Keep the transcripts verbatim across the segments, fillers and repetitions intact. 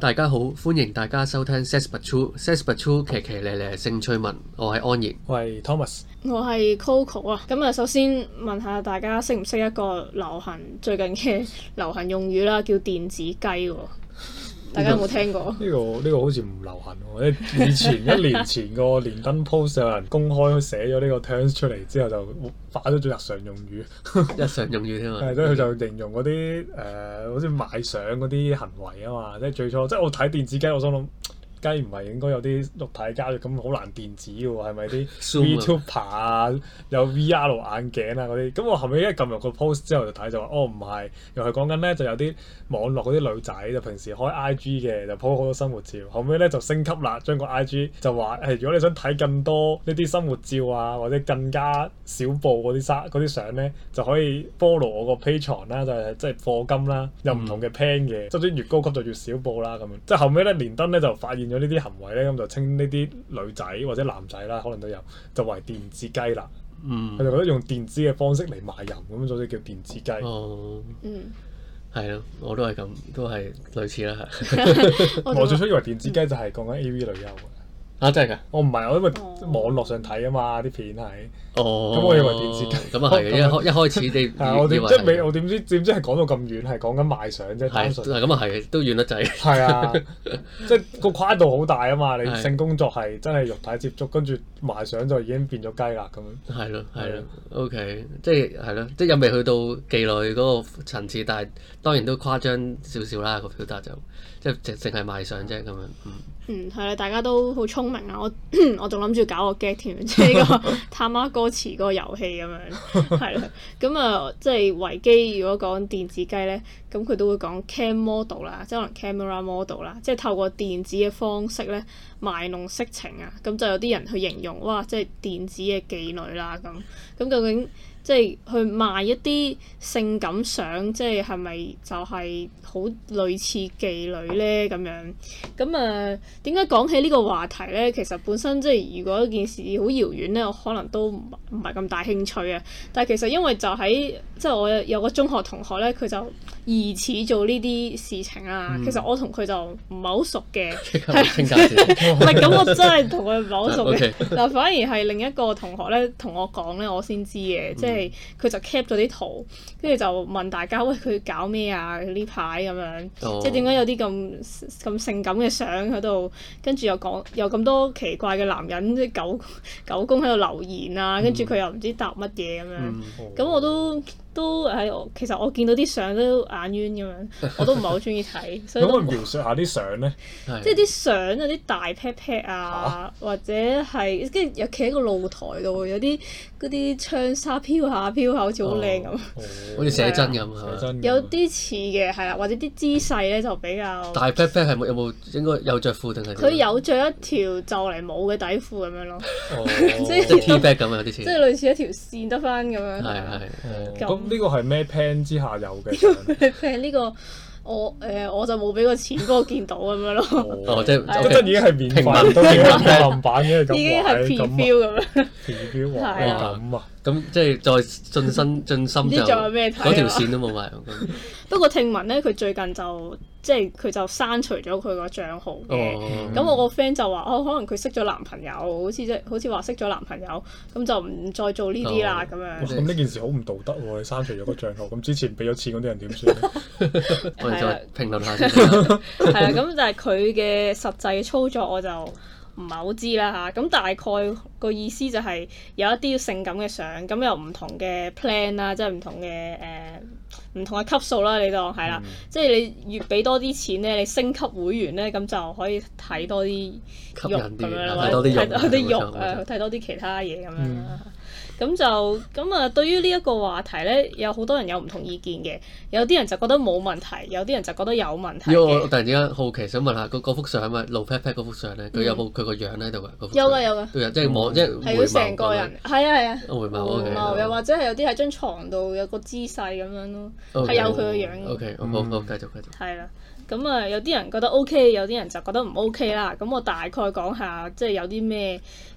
大家好，歡迎大家收聽 Sex But True，Sex But True 騎騎咧咧性趣聞，我係安然， 我係 Thomas， 我係 Coco 啊。咁啊，首先問下大家識唔識一個流行最近嘅流行用語啦，叫電子雞喎。大家有冇聽過？ 呢、這個呢、這個好似唔流行喎。以前一年前個連登 post 有人公開寫咗呢個 terms 出嚟之後，就化咗做日常用語。 日常用語添嘛。 係，即係佢就形容嗰啲誒，好似賣相嗰啲行為啊嘛。即係最初，即係我睇電子雞，我心諗。雞唔係應該有啲肉體交易咁好難電子嘅喎，係咪啲 VTuber 啊，有 V R 眼鏡啊嗰啲？咁我後尾一撳入個 post 之後就睇就話，哦唔係，又係講緊咧就有啲網絡嗰啲女仔就平時開 I G 嘅，就 po 好多生活照。後尾咧就升級啦，將個 I G 就話誒，如果你想睇更多呢啲生活照啊，或者更加少部嗰啲相嗰啲相咧，就可以 follow 我個 Patreon 啦，就係即係課金啦，有唔同嘅 plan 嘅，即係越高級就越少部啦咁樣。即係後尾咧連登咧就發現咗呢啲行為咧，咁就稱呢啲女仔或者男仔啦，可能都有，就為電子雞啦。嗯，佢就覺得用電子嘅方式嚟賣淫咁，所以叫電子雞。 哦， 嗯， 係咯，我都係咁，都係類似啦。 我最初以為電子雞就係講緊 A V 女優嘅。 啊，真係㗎？ 我唔係，我因為網絡上睇啊嘛，啲片係。 哦。 咁我以為電子雞。 咁啊係嘅，一開一開始你。 係我點即係未？我點知點知係講到咁遠，係講緊賣相啫。 係。係咁啊係，都遠得滯。 係啊，即係個跨度好大啊嘛！你性工作係真係肉體接觸，跟住賣相就已經變咗雞啦咁樣。 係咯，係咯 ，OK，即係係咯，即係又未去到妓女嗰個層次，但係當然都誇張少少啦個表達就，即係淨淨係賣相啫咁樣。嗯。 嗯，係啦，大家都好聰明啊！我我仲諗住搞個 get 添，即係呢個探媽歌詞嗰個遊戲咁樣，係啦。咁啊，即係維基如果講電子雞咧，咁佢都會講 cam model 啦，即係可能 camera model 啦，即係透過電子嘅方式咧賣弄色情啊。咁就有啲人去形容，哇！即係電子嘅妓女啦咁。咁究竟即係去賣一啲性感相，即係係咪就係好類似妓女咧咁樣？咁啊，點解講起呢個話題咧？其實本身即係如果件事好遙遠咧，我可能都唔唔係咁大興趣啊。但係其實因為就喺即係我有個中學同學咧，佢就疑似做呢啲事情啊。嗯、其實我同佢就唔係好熟嘅，係唔係咁？我真係同佢唔係好熟嘅。但反而係另一個同學咧同我講咧，我先知嘅，即係。佢就 cap 咗啲圖，跟住就問大家喂，佢搞咩啊？呢排咁樣，oh. 即係點解有啲咁咁性感嘅相喺度？跟住又講有咁多奇怪嘅男人即係狗狗公喺度留言啊，跟住佢又唔知答乜嘢咁樣，咁、mm. oh. 我都。都係我其實我見到啲相都眼冤咁樣，我都唔係好中意睇。所以都可唔可以描述下啲相咧？ 即係啲相有啲大 pat pat 啊，啊或者係跟住又企喺個露台度，有啲嗰啲窗紗飄下飄下，好似好靚咁。 好似寫真咁係有啲似嘅係啦，或者啲姿勢咧就比較。 大 pat pat 係冇有冇應該有着褲定係？ 佢有着一條就嚟冇嘅底褲咁樣咯。 哦，即係 T-back 咁啊，有啲似。即係類似一條線得翻咁樣。 係係。 呢個係咩 plan 之下有嘅？ 咩 plan 呢個我誒、呃、我就冇俾個錢，不過見到咁樣咯。 哦，即係即係已經係免費，都免費版嘅咁。 已經係 preview 咁樣。 preview 哇咁啊！ 咁即係再進身進深就嗰條線都冇埋。 不過聽聞咧，佢最近就即係佢就刪除咗佢個帳號嘅。咁、哦、我個 friend 就話：哦，可能佢識咗男朋友，好似即係好似話識咗男朋友，咁就唔再做呢啲啦咁樣。 咁呢件事好唔道德喎！你刪除咗個帳號，咁之前俾咗錢嗰啲人點算咧？ 我哋再評論下先。 係啦，咁但係佢嘅實際操作我就唔係好知啦嚇，咁大概個意思就係有一啲性感嘅相，咁有唔同嘅 plan 啦，即係唔同嘅誒唔同嘅級數啦，你當係啦，嗯、即係你越俾多啲錢咧，你升級會員咧，咁就可以睇多啲肉咁樣啦，或者睇多啲肉啊，睇多啲其他嘢咁樣啦。咁就咁啊！對於呢一個話題咧，有好多人有唔同意見嘅。有啲人就覺得冇問題，有啲人就覺得有問題。 因為我突然之間好奇想問下，嗰幅相咪露 pat pat 嗰幅相咧，佢有冇佢個樣喺度㗎？ 有㗎有㗎。 都有，即係望即係回眸成個人。係啊係啊。 回眸。回眸又或者係有啲喺張床度有個姿勢咁樣咯，係有佢個樣嘅。 O K，好好繼續繼續。 係啦。咁啊，有啲人覺得 O K，有啲人就覺得唔 O K 啦。咁我大概講下，即係有啲咩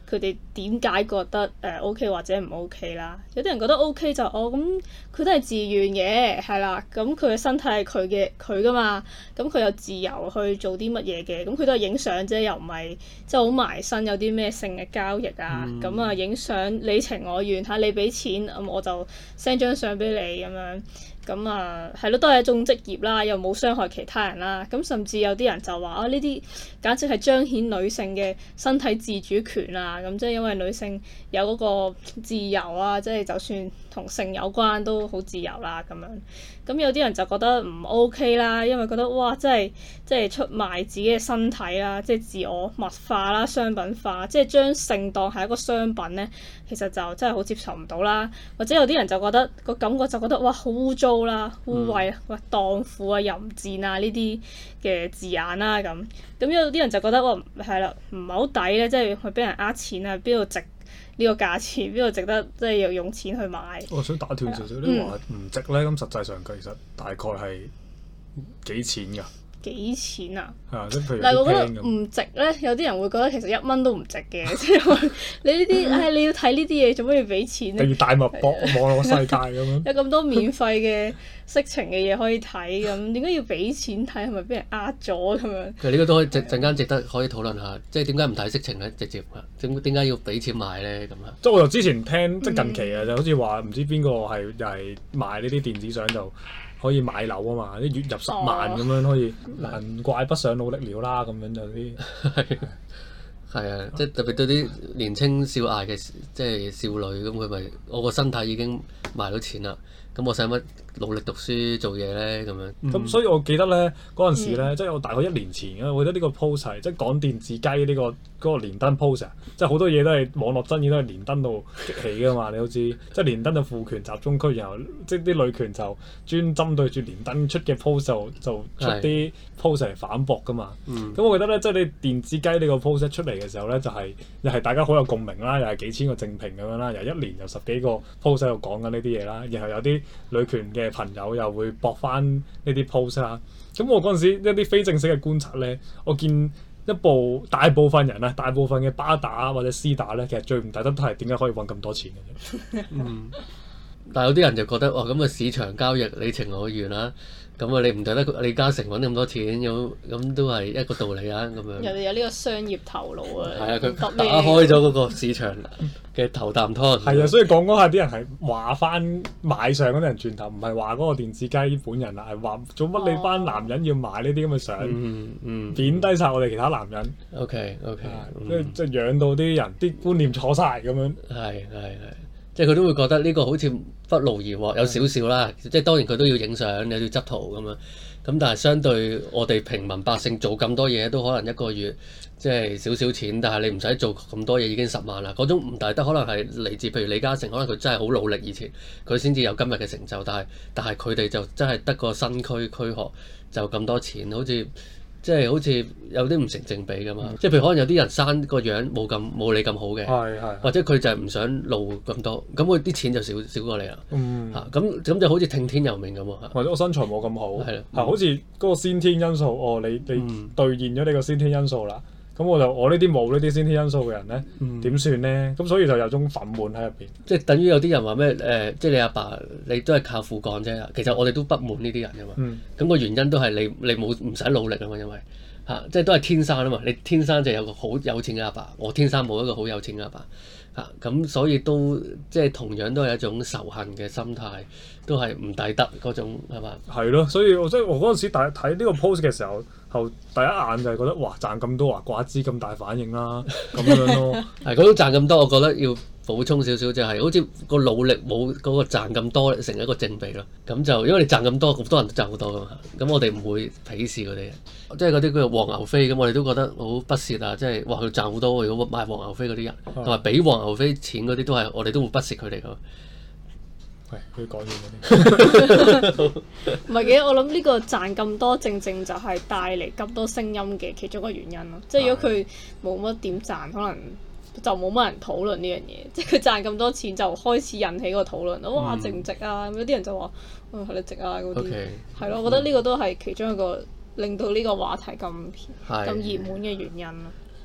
佢哋點解覺得誒、呃、OK 或者唔 OK 啦？有啲人覺得 OK 就哦咁，佢都係自願嘅，係啦，咁佢嘅身體係佢嘅佢噶嘛，咁佢有自由去做啲乜嘢嘅，咁佢都係影相啫，又唔係即係好埋身有啲咩性嘅交易啊，咁、嗯、啊影相你情我願嚇，你俾錢咁我就 send 張相俾你咁樣。咁啊，係咯，都係一種職業啦，又冇傷害其他人啦。咁甚至有啲人就話啊，呢啲簡直係彰顯女性嘅身體自主權啊！咁即係因為女性有嗰個自由啊，即係就算同性有關都好自由啦咁樣。咁有啲人就覺得唔 OK 啦，因為覺得哇，真係即係出賣自己嘅身體啦，即係自我物化啦、商品化，即係將性當係一個商品咧，其實就真係好接受唔到啦。或者有啲人就覺得個感覺就覺得哇，好污糟啦、污穢啊、哇蕩婦啊、淫賤啊呢啲嘅字眼啦咁。咁有啲人就覺得哇，係啦，唔係好抵咧，即係去俾人呃錢啊，邊度值呢個價錢，邊度值得即係要用錢去買？ 我想打斷少少，你話唔值咧，咁實際上其實大概係幾錢㗎？ 幾錢啊？ 係啊，即係譬如但係我覺得咁唔值咧，有啲人會覺得其實一蚊都唔值嘅，即係你呢啲唉，你要睇呢啲嘢做咩要俾錢咧？ 例如大脈搏網絡世界咁樣， 有咁多免費嘅色情嘅嘢可以睇，咁點解要俾錢睇？係咪俾人呃咗咁樣？ 其實呢個都可以陣陣間值得可以討論下，即係點解唔睇色情咧？直接點點解要俾錢買咧？咁啊， 即係我由之前聽即係近期啊，就好似話唔知邊個係又係賣呢啲電子相就可以買樓啊嘛，啲月入十萬咁樣可以，難怪不想努力了啦咁樣就啲係係啊，即係特別對啲年青少艾嘅即係少女咁，佢咪我個身體已經賣到錢啦，咁我使乜努力讀書做嘢咧咁樣？ 咁、嗯、所以我記得咧嗰陣時咧，嗯、即係我大概一年前啊，我覺得呢個 post 係即係講電子雞呢、呢個嗰、嗰個連登 post 啊，即係好多嘢都係網絡爭議都係連登度激起噶嘛，你都知，即係連登就父權集中區，然後即係啲女權就專針對住連登出嘅 post 就就出啲 post 嚟反駁噶嘛。咁、嗯、我記得咧，即係你電子雞呢個 post 出嚟嘅時候咧，就係、是、又係大家好有共鳴啦，又係幾千個正評咁樣啦，又一年有十幾個 post 喺度講緊呢啲嘢啦，然後有啲女權嘅朋友又會駁翻呢啲 post 啦。咁我嗰陣時一啲非正式嘅觀察咧，我見一部大部分人啊，大部分嘅巴打或者絲打咧，其實最唔抵得都係點解可以揾咁多錢嘅啫。 嗯，但係有啲人就覺得哇，咁啊市場交易你情我願啦。咁啊，你唔抵得李嘉誠揾咁多錢，咁咁都係一個道理啊，咁樣。 人哋有呢個商業頭腦啊。係啊， 佢打開咗嗰個市場嘅頭啖湯。 係啊，所以講講下啲人係話翻買相嗰啲人轉頭，唔係話嗰個電子雞本人啊，係話做乜你班男人要買呢啲咁嘅相， 嗯嗯， 貶低晒我哋其他男人。 OK OK， 即係即係養到啲人啲觀念錯晒咁樣。 係係係。即係佢都會覺得呢個好似不勞而獲，有少少啦。即係當然佢都要影相，又要執圖咁樣。咁但係相對我哋平民百姓做咁多嘢，都可能一個月即係少少錢。但係你唔使做咁多嘢已經十萬啦。嗰種唔抵得，可能係嚟自譬如李嘉誠，可能佢真係好努力以前，佢先至有今日嘅成就。但係但係佢哋就真係得個身軀軀殼就咁多錢，好似。即係好似有啲唔成正比㗎嘛，嗯、即係譬如可能有啲人生個樣冇咁冇你咁好嘅，或者佢就係唔想露咁多，咁佢啲錢就少少過你啦。 嗯， 嚇咁咁就好似聽天由命咁喎。 或者我身材冇咁好，係啦， 係好似嗰個先天因素，哦，你你兌現咗你個先天因素啦。咁我就我呢啲冇呢啲先天因素嘅人咧，點算咧？咁所以就有種憤懣喺入邊。 即係等於有啲人話咩誒？即係你阿爸，爸，你都係靠父幹啫。其實我哋都不滿呢啲人㗎嘛。咁、嗯、個原因都係你你冇唔使努力啊嘛，因為嚇、啊、即係都係天生啊嘛。你天生就有個好有錢嘅阿爸，爸，我天生冇一個好有錢嘅阿爸嚇。咁、啊、所以都即係同樣都係一種仇恨嘅心態，都係唔抵得嗰種係嘛？ 係咯，所以我即係我嗰陣時睇睇呢個 post 嘅時候。後第一眼就係覺得哇賺咁多啊，怪之咁大反應啦咁樣咯。 係，佢都賺咁多，我覺得要補充少少就係、是，好似個努力冇嗰個賺咁多成一個正比咯。咁就因為你賺咁多，咁多人都賺好多噶嘛。咁我哋唔會鄙視佢哋嘅，即係嗰啲叫做黃牛飛咁，我哋都覺得好不屑啊！即係哇佢賺好多，如果買黃牛飛嗰啲人，同埋俾黃牛飛錢嗰啲都係我哋都會不屑佢哋噶。 係，佢講完嗰啲。 唔係嘅，我諗呢個賺咁多，正正就係帶嚟咁多聲音嘅其中一個原因咯。即係如果佢冇乜點賺，可能就冇乜人討論呢樣嘢。即係佢賺咁多錢，就開始引起個討論。哇，值唔值啊？咁有啲人就話：嗯，係你值啊嗰啲。係咯，我覺得呢個都係其中一個令到呢個話題咁咁熱門嘅原因咯。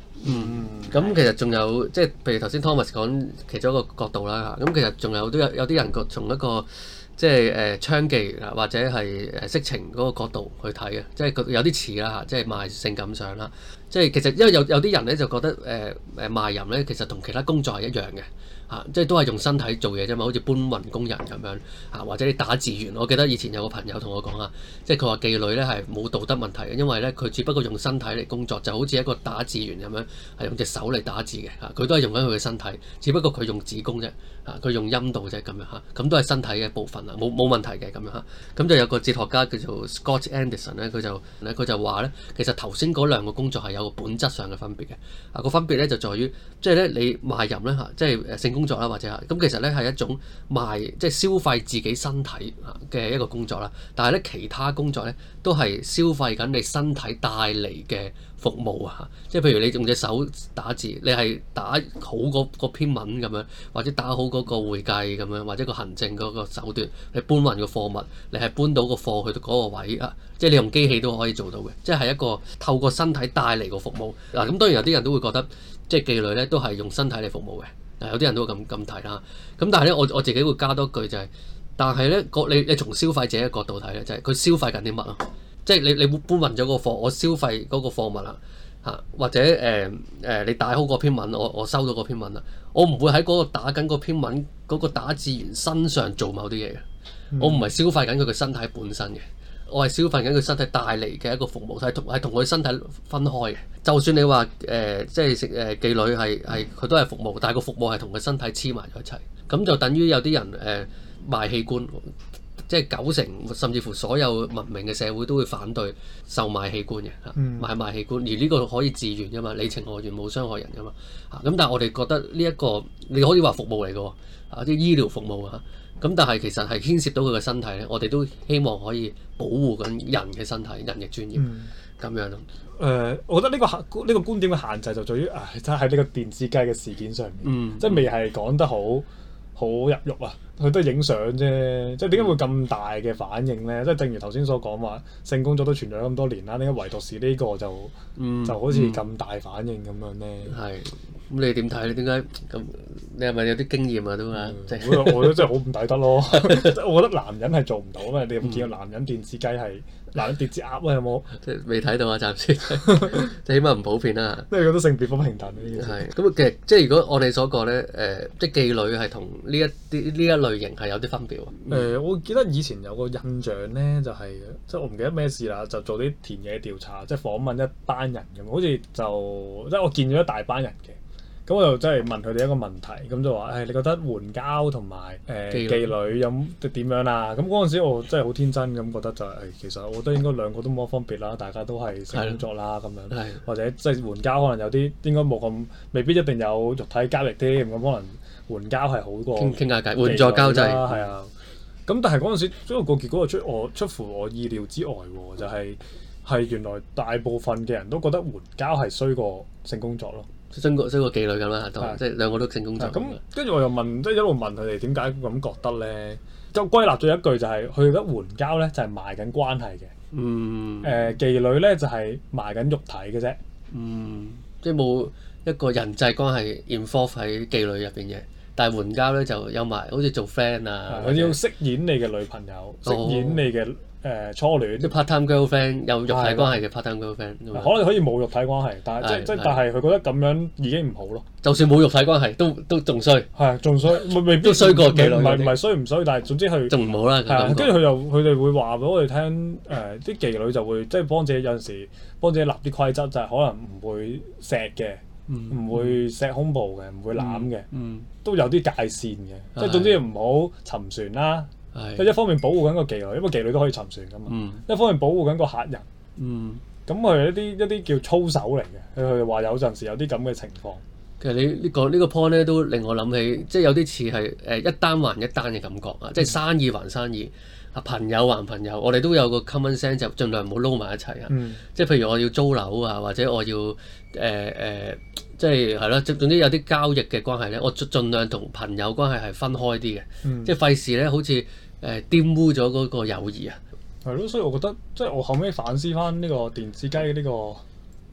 嗯，咁其實仲有即係譬如頭先 Thomas 講其中一個角度啦嚇，咁其實仲有都有有啲人個從一個即係誒娼妓啊或者係誒色情嗰個角度去睇嘅，即係佢有啲似啦嚇，即係賣性感相啦，即係其實因為有有啲人咧就覺得誒誒、呃、賣淫咧其實同其他工作係一樣嘅。啊，即係都係用身體做嘢啫嘛，好似搬運工人咁樣啊，或者你打字員。我記得以前有個朋友同我講啊，即係佢話妓女咧係冇道德問題嘅，因為咧佢只不過用身體嚟工作，就好似一個打字員咁樣，係用隻手嚟打字嘅嚇，佢都係用緊佢嘅身體，只不過佢用子宮啫，嚇佢用陰道啫咁樣嚇，咁都係身體嘅一部分啊，冇冇問題嘅咁樣嚇。咁就有個哲學家叫做 Scott Anderson 咧，佢就咧佢就話咧，其實頭先嗰兩個工作係有個本質上嘅分別嘅，啊個分別咧就在於，即係咧你賣淫咧嚇，即係誒性工作啦，或者係咁，其實咧係一種賣即係消費自己身體嘅一個工作啦。但係咧其他工作咧都係消費緊你身體帶嚟嘅服務啊。即係譬如你用隻手打字，你係打好嗰嗰篇文咁樣，或者打好嗰個會計咁樣，或者個行政嗰個手段，你搬運個貨物，你係搬到個貨去到嗰個位啊。即係你用機器都可以做到嘅，即係一個透過身體帶嚟個服務嗱。咁當然有啲人都會覺得，即係妓女咧都係用身體嚟服務嘅。有啲人都會咁咁睇啦，咁但係咧，我我自己會加多句就係、是，但係咧個你你從消費者嘅角度睇咧，就係、是、佢消費緊啲乜咯？即係你你搬運咗個貨，我消費嗰個貨物啦嚇，或者誒誒、呃、你打好嗰篇文，我我收到嗰篇文啦，我唔會喺嗰個打緊嗰篇文嗰、那個打字員身上做某啲嘢嘅，嗯、我唔係消費緊佢嘅身體本身嘅。我係消費緊佢身體帶嚟嘅一個服務，係同係同佢身體分開嘅。就算你話誒、呃，即係食誒妓女係係佢都係服務，但係個服務係同佢身體黐埋咗一齊。咁就等於有啲人誒、呃、賣器官，即係九成甚至乎所有文明嘅社會都會反對售賣器官嘅嚇， 嗯、 買賣器官。而呢個可以自願㗎嘛，你情我願冇傷害人㗎嘛嚇。咁但係我哋覺得呢、這、一個你可以話服務嚟㗎喎，啊啲醫療服務啊。咁但係其實係牽涉到佢嘅身體咧，我哋都希望可以保護緊人嘅身體、人嘅專業咁、嗯、樣咯。誒、 呃，我覺得呢、這個呢、這個觀點嘅限制就在於，誒，真係喺呢個電子雞嘅事件上面， 嗯、 即係未係講得好好入肉啊。佢都係影相啫，即係點解會咁大嘅反應咧？即係正如頭先所講話，性工作都存在咗咁多年啦，點解唯獨是呢個就、嗯、就好似咁大反應咁樣咧？係、嗯。 咁你點睇咧？點解咁？你係咪有啲經驗啊？都啊，即係我我覺得真係好唔抵得咯。我覺得男人係做唔到啊嘛。你有冇見過男人電子雞係男人電子鴨啊？有冇？ 即係未睇到啊，暫時即係起碼唔普遍啦。 即係覺得性別不平等呢啲嘢。 係咁其實即係如果我哋所講咧，誒、呃，即係妓女係同呢一啲呢一類型係有啲分別喎。誒、 嗯呃，我記得以前有個印象咧，就係、是、即係我唔記得咩事啦，就做啲田野調查，即係訪問一班人咁，好似就即係我見咗一大班人嘅。咁我就真係問佢哋一個問題，咁就話：誒、哎，你覺得援交同埋誒妓女有點樣啊？咁嗰陣時我真係好天真咁覺得就係、是哎，其實我覺得應該兩個都冇乜分別啦，大家都係性工作啦咁樣， 的或者即係援交可能有啲應該冇咁，未必一定有肉體交易添，咁可能援交係好過傾傾下偈，援助交際啦，係啊。咁但係嗰陣時，因為個結果出我出乎我意料之外喎，就係、是、係原來大部分嘅人都覺得援交係衰過性工作咯。 衰過衰過妓女咁啦，都即係兩個都性工作。 咁跟住我又問，即係一路問佢哋點解咁覺得咧？就歸納咗一句就係、是，佢覺得援交咧就係賣緊關係嘅。嗯。誒、呃，妓女咧就係賣緊肉體嘅啫。嗯。 即係冇一個人際關係 involve 喺妓女入邊嘅，但係援交咧就有埋，好似做 friend 啊。 佢要飾演你嘅女朋友，飾、哦、演你嘅。誒、呃、初戀， 即 part time girlfriend 有肉體關係嘅 part time girlfriend， 可能可以冇肉體關係，但係即即但係佢覺得咁樣已經唔好咯。 就算冇肉體關係，都都仲衰。 係仲衰，未必都衰過妓女。 唔係唔係衰唔衰，但係總之佢仲唔好啦。係啊， 跟住佢又佢哋會話俾我哋聽，誒啲妓女就會即係幫自己有陣時幫自己立啲規則，就係可能唔會錫嘅，唔會錫胸部嘅，唔會攬嘅，都有啲界線嘅，即係總之唔好沉船啦。即係一方面保護緊個妓女，因為妓女都可以沉船噶嘛。嗯、一方面保護緊個客人。咁佢係一啲一啲叫操守嚟嘅。佢佢話有陣時有啲咁嘅情況。 其實你呢、呢個呢、呢個 point 咧都令我諗起，即係有啲似係誒一單還一單嘅感覺啊！嗯、即係生意還生意，啊朋友還朋友，我哋都有個 common sense 就盡量唔好撈埋一齊啊！嗯、即係譬如我要租樓啊，或者我要誒誒、呃呃，即係係咯，總之有啲交易嘅關係咧，我盡盡量同朋友關係係分開啲嘅，嗯、即係費事咧好似誒玷污咗嗰個友誼啊！ 係咯，所以我覺得即係我後尾反思翻呢個電子雞呢、呢個。即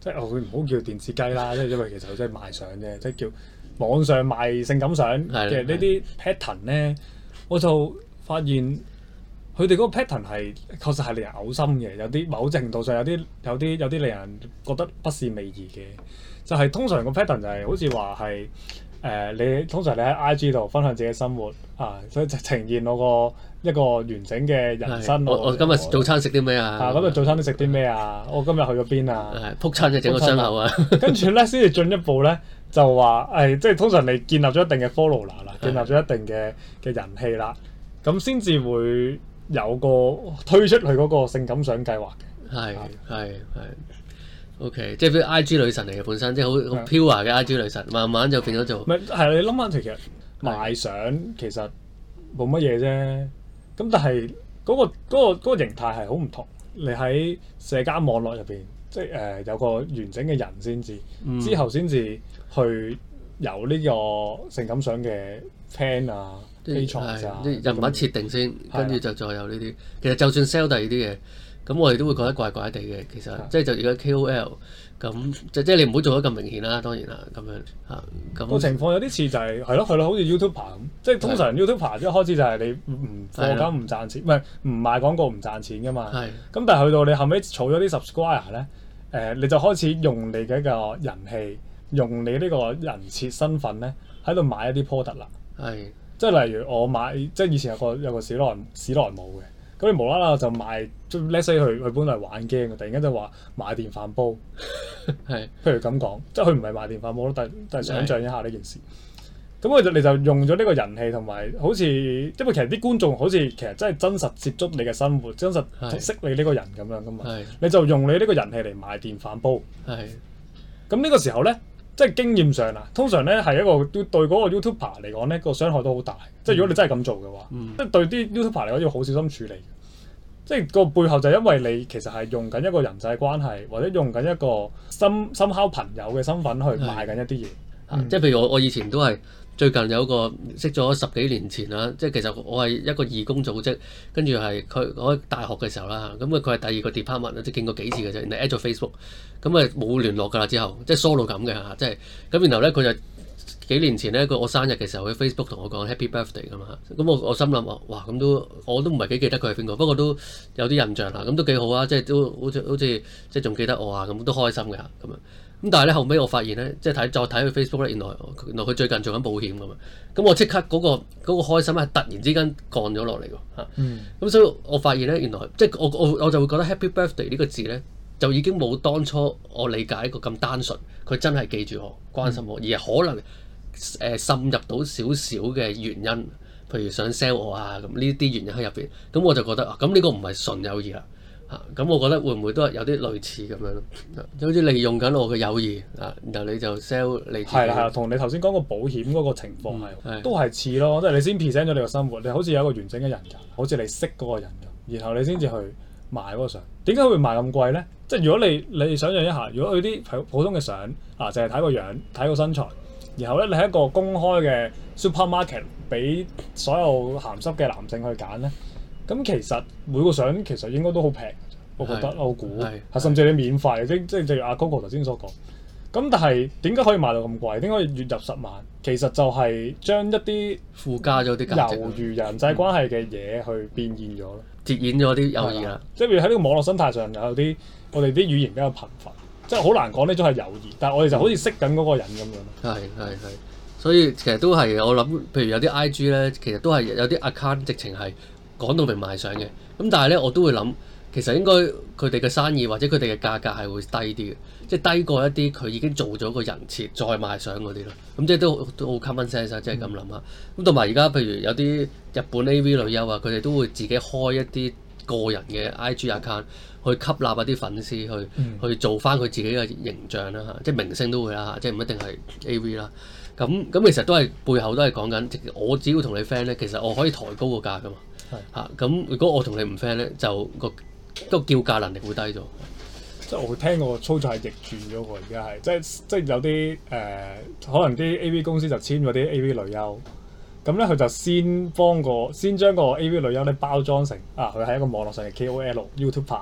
即係我唔好叫電子雞啦，即係因為其實佢真係賣相啫，即係叫網上賣性感相嘅呢啲 pattern 咧，我就發現佢哋嗰個 pattern 係確實係令人嘔心嘅，有啲某程度上有啲有啲有啲令人覺得不是味兒嘅，就係、是、通常個 pattern 就係、是、好似話係。誒、呃，你通常你喺 I G 度分享自己嘅生活啊，所以就呈現我個一個完整嘅人生。 我我今日早餐食啲咩啊？ 啊，今日早餐都食啲咩啊？我今日去咗邊啊？ 係撲親就整個傷口啊！ 跟住咧，先至進一步咧，就話誒、哎，即係通常你建立咗一定嘅 follower 啦，建立咗一定嘅嘅人氣啦，咁先至會有個推出佢嗰個性感相計劃嘅。 係係係。O.K. 即係啲 I G 女神嚟嘅本身，即係好好 pure 嘅 I G 女神，慢慢就變咗做。 唔係係你諗下，其實賣相其實冇乜嘢啫。咁但係嗰、嗰個嗰、嗰個嗰個、形態係好唔同。你喺社交網絡入邊，即係誒、呃、有個完整嘅人先至，嗯、之後先至去有呢個性感相嘅 plan 啊、page 啊， 啲人物設定先，跟住就再有呢啲。其實就算 sell 第二啲嘢。咁我哋都會覺得怪怪地嘅，其實即係就而家 K O L 咁，即即係你唔好做得咁明顯啦，當然啦，咁樣嚇咁個情況有啲似就係係咯係咯，好似 YouTuber 咁，即係通常 YouTuber 一開始就係你唔課金唔賺錢，唔係唔賣廣告唔賺錢噶嘛。係。咁但係去到你後尾儲咗啲 subscriber 咧，誒你就開始用你嘅一個人氣，用你呢個人設身份咧喺度買一啲 product 啦。係。即係例如我買，即係以前有個有個史萊史萊姆嘅。咁你無啦啦就賣，即係 let's say 佢佢本嚟玩 game 嘅，突然間就話買電飯煲，係是，譬如咁講，即係佢唔係賣電飯煲咯，但但係想像一下呢件事。咁佢就你就用咗呢個人氣同埋，好似因為其實啲觀眾好似其實真係真實接觸你嘅生活，真實識你呢個人咁樣噶嘛，是你就用你呢個人氣嚟買電飯煲。係是，咁呢個時候咧。即係經驗上啊，通常咧係一個對嗰個 YouTuber 嚟講咧個傷害都好大。嗯、即係如果你真係咁做嘅話，嗯、即係對啲 YouTuber 嚟講要好小心處理。即係個背後就係因為你其實係用緊一個人際關係，或者用緊一個深深烤朋友嘅身份去賣緊一啲嘢。嗯、即係譬如我我以前都係最近有個識咗十幾年前啦，即係其實我係一個義工組織，跟住係佢我喺大學嘅時候啦，咁啊佢係第二個 department 即係見過幾次嘅啫，然後 at 咗 Facebook，咁啊冇聯絡㗎啦之後，即係疏到咁嘅嚇，即係咁然後咧佢就幾年前咧佢我生日嘅時候喺 Facebook 同我講 Happy Birthday 㗎嘛，咁我我心諗話哇咁都我都唔係幾記得佢係邊個，不過都有啲印象啦，咁都幾好啊，即係都好似好似即係仲記得我啊，咁都開心嘅咁樣。咁但係咧後尾我發現咧，即係睇再睇佢 Facebook 咧，原來原來佢最近做緊保險㗎嘛，咁我即刻嗰、嗰個嗰、嗰個開心係突然之間降咗落嚟㗎嚇，咁、嗯、所以我發現咧原來即係我我我就會覺得 Happy Birthday 呢個字咧就已經冇當初我理解一個咁單純，佢真係記住我關心我，嗯、而係可能誒、呃、滲入到少少嘅原因，譬如想 sell 我啊咁呢啲原因喺入邊，咁我就覺得啊咁呢個唔係純友誼啦。嚇咁、啊、我覺得會唔會都係有啲類似咁樣咯？好似利用緊我嘅友誼啊，然後你就 sell 你自己。係啦係啦，同你頭先講個保險嗰個情況係、嗯、都係似咯，即係你先 present 咗你個生活，你好似有一個完整嘅人格，好似你識嗰個人咁，然後你先至去賣嗰個相。點解會賣咁貴咧？即係如果你你想象一下，如果佢啲普普通嘅相啊，淨係睇個樣、睇個身材，然後咧你喺一個公開嘅 supermarket 俾所有鹹濕嘅男性去揀咧。咁其實每個相其實應該都好平，我覺得我估係甚至你免費，即即正如阿 Coco 頭先所講。咁但係點解可以賣到咁貴？點解月入十萬？其實就係將一啲附加咗啲價值， 猶如人際關係嘅嘢去變現咗咯， 折現咗啲友誼啦。 即係譬如喺呢個網絡生態上有啲我哋啲語言比較貧乏，即係好難講呢種係友誼，但係我哋就好似識緊嗰個人咁樣。係係係，所以其實都係我諗，譬如有啲 I G 咧，其實都係有啲 account 直情係。講到明賣相嘅，咁但係咧我都會諗，其實應該佢哋嘅生意或者佢哋嘅價格係會低啲嘅，即係低過一啲佢已經做咗個人設再賣相嗰啲咯。咁即係都都好 common sense 啊，即係咁諗下。咁同埋而家譬如有啲日本 A V 女優啊，佢哋都會自己開一啲個人嘅 I G account 去吸納一啲粉絲去、嗯、去做翻佢自己嘅形象啦嚇，即係明星都會啦嚇，即係唔一定係 A V 啦。咁咁其實都係背後都係講緊，我只要同你 friend 咧，其實我可以抬高個價噶嘛。嚇咁，如果我同你唔 friend 咧，就個個叫價能力會低咗。即係我聽過操作係逆轉咗喎，而家係即係即係有啲誒、呃，可能啲 A V 公司就簽咗啲 A V 女優，咁咧佢就先幫個先將個 A V 女優咧包裝成啊，佢係一個網絡上嘅 K O L、YouTuber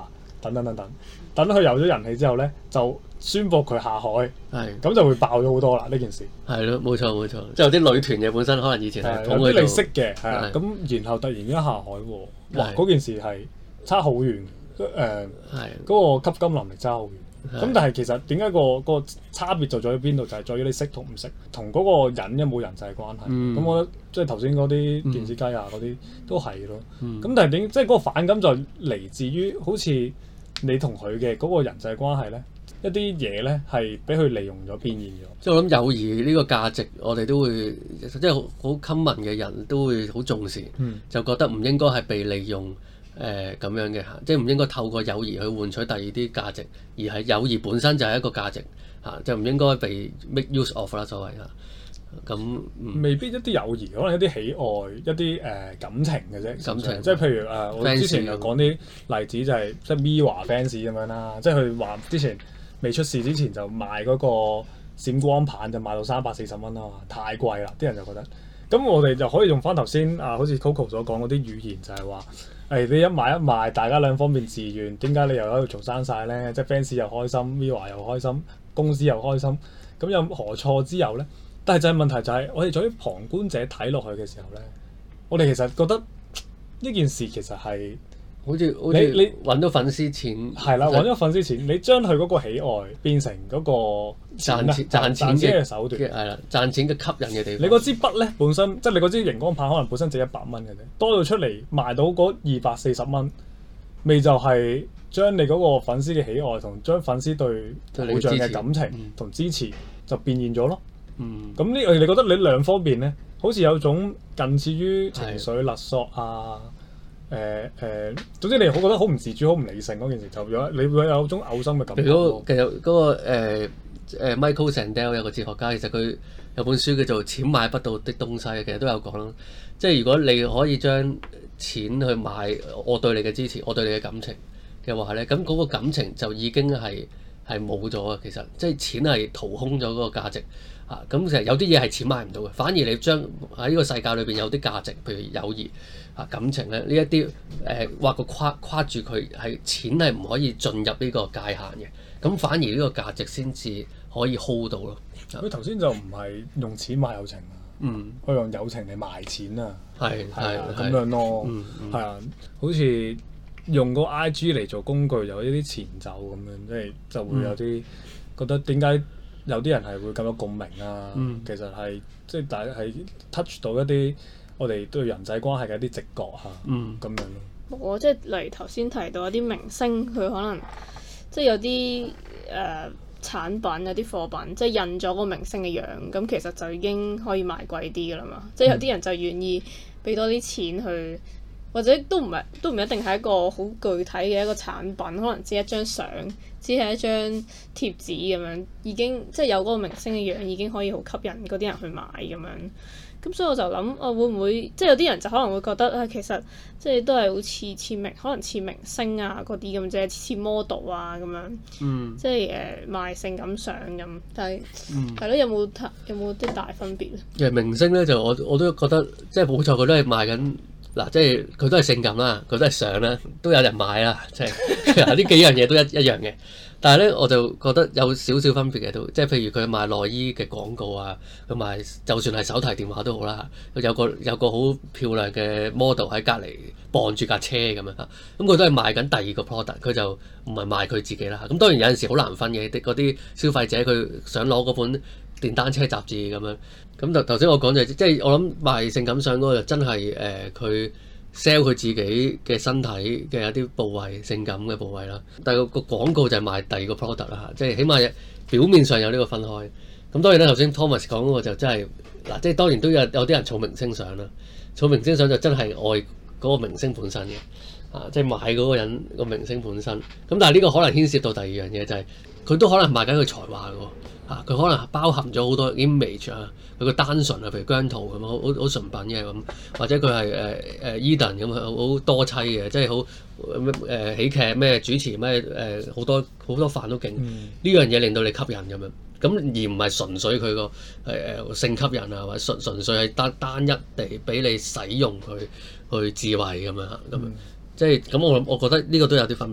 等等等等，等佢有咗人氣之後咧，就宣佈佢下海， 係咁就會爆咗好多啦呢件事。 係咯，冇錯冇錯，即係有啲女團嘅本身可能以前係捧佢做有啲你識嘅係啊，咁然後突然間下海喎，哇嗰件事係差好遠，誒嗰個吸金能力差好遠。咁但係其實點解個個差別就在於邊度？就係在於你識同唔識，同嗰個人有冇人際關係。咁、嗯、我覺得即係頭先嗰啲電子雞啊嗰啲都係咯。咁、嗯、但係點即係嗰個反感就嚟自於好似你同佢嘅嗰個人際關係咧，一啲嘢咧係俾佢利用咗變現咗。 即係我諗友誼呢個價值，我哋都會即係好 common 嘅人都會好重視，嗯、就覺得唔應該係被利用。誒咁、呃、樣嘅嚇，即係唔應該透過友誼去換取第二啲價值，而係友誼本身就係一個價值嚇、啊，就唔應該被 make use of 啦，所謂嚇。咁、嗯、 未必一啲友誼，可能一啲喜愛、一啲誒、呃、感情嘅啫。感情即係譬如誒、呃，我之前又講啲例子就係、是、即係 Mirror fans 咁樣啦，即係佢話之前未出事之前就賣嗰個閃光棒就賣到三百四十蚊啊嘛，太貴啦，啲人就覺得。咁我哋就可以用翻頭先啊，好似 Coco 所講嗰啲語言就係話。誒、哎、你一買一賣，大家兩方面自願，點解你又喺度嘈生晒咧？即係 fans 又開心 Mirror 又開心，公司又開心，咁有何錯之有咧？但係就係問題就係、是，我哋作為旁觀者睇落去嘅時候咧，我哋其實覺得呢件事其實係好似好似你揾到粉絲錢係啦，揾咗粉絲錢，你將佢嗰個喜愛變成嗰個賺錢賺錢嘅手段， 係啦，賺錢嘅吸引嘅地方。 你嗰支筆咧本身，即係你嗰支熒光棒可能本身值一百蚊嘅啫，多到出嚟賣到嗰二百四十蚊，未就係將你嗰個粉絲嘅喜愛同將粉絲對偶像嘅感情同支持就變現咗咯。嗯，咁呢？你覺得你兩方面咧，好似有種近似於情緒勒索啊？誒誒、呃呃，總之你好覺得好唔自主、好唔理性嗰件事，就有你會有種嘔心嘅感覺。 如果其實嗰、嗰個誒、呃呃、Michael Sandel 有個哲學家，其實佢有本書叫做《錢買不到的東西》，其實都有講啦。即係如果你可以將錢去買我對你嘅支持、我對你嘅感情嘅話咧，咁嗰個感情就已經係係冇咗啊！其實即係錢係掏空咗嗰個價值。啊，咁其實有啲嘢係錢買唔到嘅，反而你將喺呢個世界裏邊有啲價值，譬如友誼啊、感情咧，呢一啲誒畫個框框住佢，係錢係唔可以進入呢個界限嘅，咁反而呢個價值先至可以 hold 到咯。 佢頭先就唔係用錢買友情啊，嗯，佢用友情嚟賣錢啊，係係咁樣咯，係、嗯嗯、啊，好似用個 I G 嚟做工具，有一啲前奏咁樣，即係就會有啲覺得點解？有啲人係會咁有共鳴啊，嗯、其實係即係大家係 touch 到一啲我哋對人際關係嘅一啲直覺嚇，咁、嗯、樣咯。 我即係例如頭先提到一啲明星，佢可能即係有啲誒、呃、產品有啲貨品，即係印咗個明星嘅樣，咁其實就已經可以賣貴啲㗎啦嘛。即係有啲人就願意俾多啲錢去。或者都唔係，都唔一定係一個好具體嘅一個產品，可能只係一張相，只係一張貼紙咁樣，已經即係有嗰個明星嘅樣，已經可以好吸引嗰啲人去買咁樣。咁所以我就諗，啊會唔會即係有啲人就可能會覺得啊，其實即係都係好似似明，可能似明星啊嗰啲咁啫，似 model 啊咁樣，嗯、即係誒、呃、賣性感相咁。但係係咯，有冇有冇啲大分別咧？ 其實明星咧就我我都覺得即係冇錯，佢都係賣緊。嗱，即係佢都係性感啦，佢都係相啦，都有人買啦，即係呢幾樣嘢都一一樣嘅。但係咧，我就覺得有少少分別嘅都，即係譬如佢賣內衣嘅廣告啊，佢賣就算係手提電話都好啦，有個有個好漂亮嘅 model 喺隔離傍住架車咁樣嚇，咁佢都係賣緊第二個 product，佢就唔係賣佢自己啦。咁當然有陣時好難分嘅，啲嗰啲消費者佢想攞嗰本電單車雜誌咁樣。咁就頭先我講就係，即係我諗賣性感相嗰個就真係誒佢 sell 佢自己嘅身體嘅一啲部位，性感嘅部位啦。但係個個廣告就係賣第二個 product 啦嚇，即係起碼表面上有呢個分開。咁當然啦，頭先 Thomas 講嗰個就真係嗱，即係當然都有有啲人儲明星相啦，儲明星相就真係愛嗰個明星本身嘅啊，即係買嗰個人個明星本身。咁但係呢個可能牽涉到第二樣嘢就係、是、佢都可能賣緊佢才華嘅喎。啊！佢可能包含咗好多 image 啊，佢個單純啊，譬如姜濤咁好好好純品嘅咁，或者佢係誒誒 Eden 咁好多妻嘅，即係好咩誒喜劇咩主持咩誒好多好多飯都勁，呢、嗯、樣嘢令到你吸引咁樣，咁而唔係純粹佢個誒誒性吸引啊，或者純純粹係單單一地俾你使用佢去智慧咁樣嚇，咁、嗯、即係咁我諗我覺得呢個都有啲分別。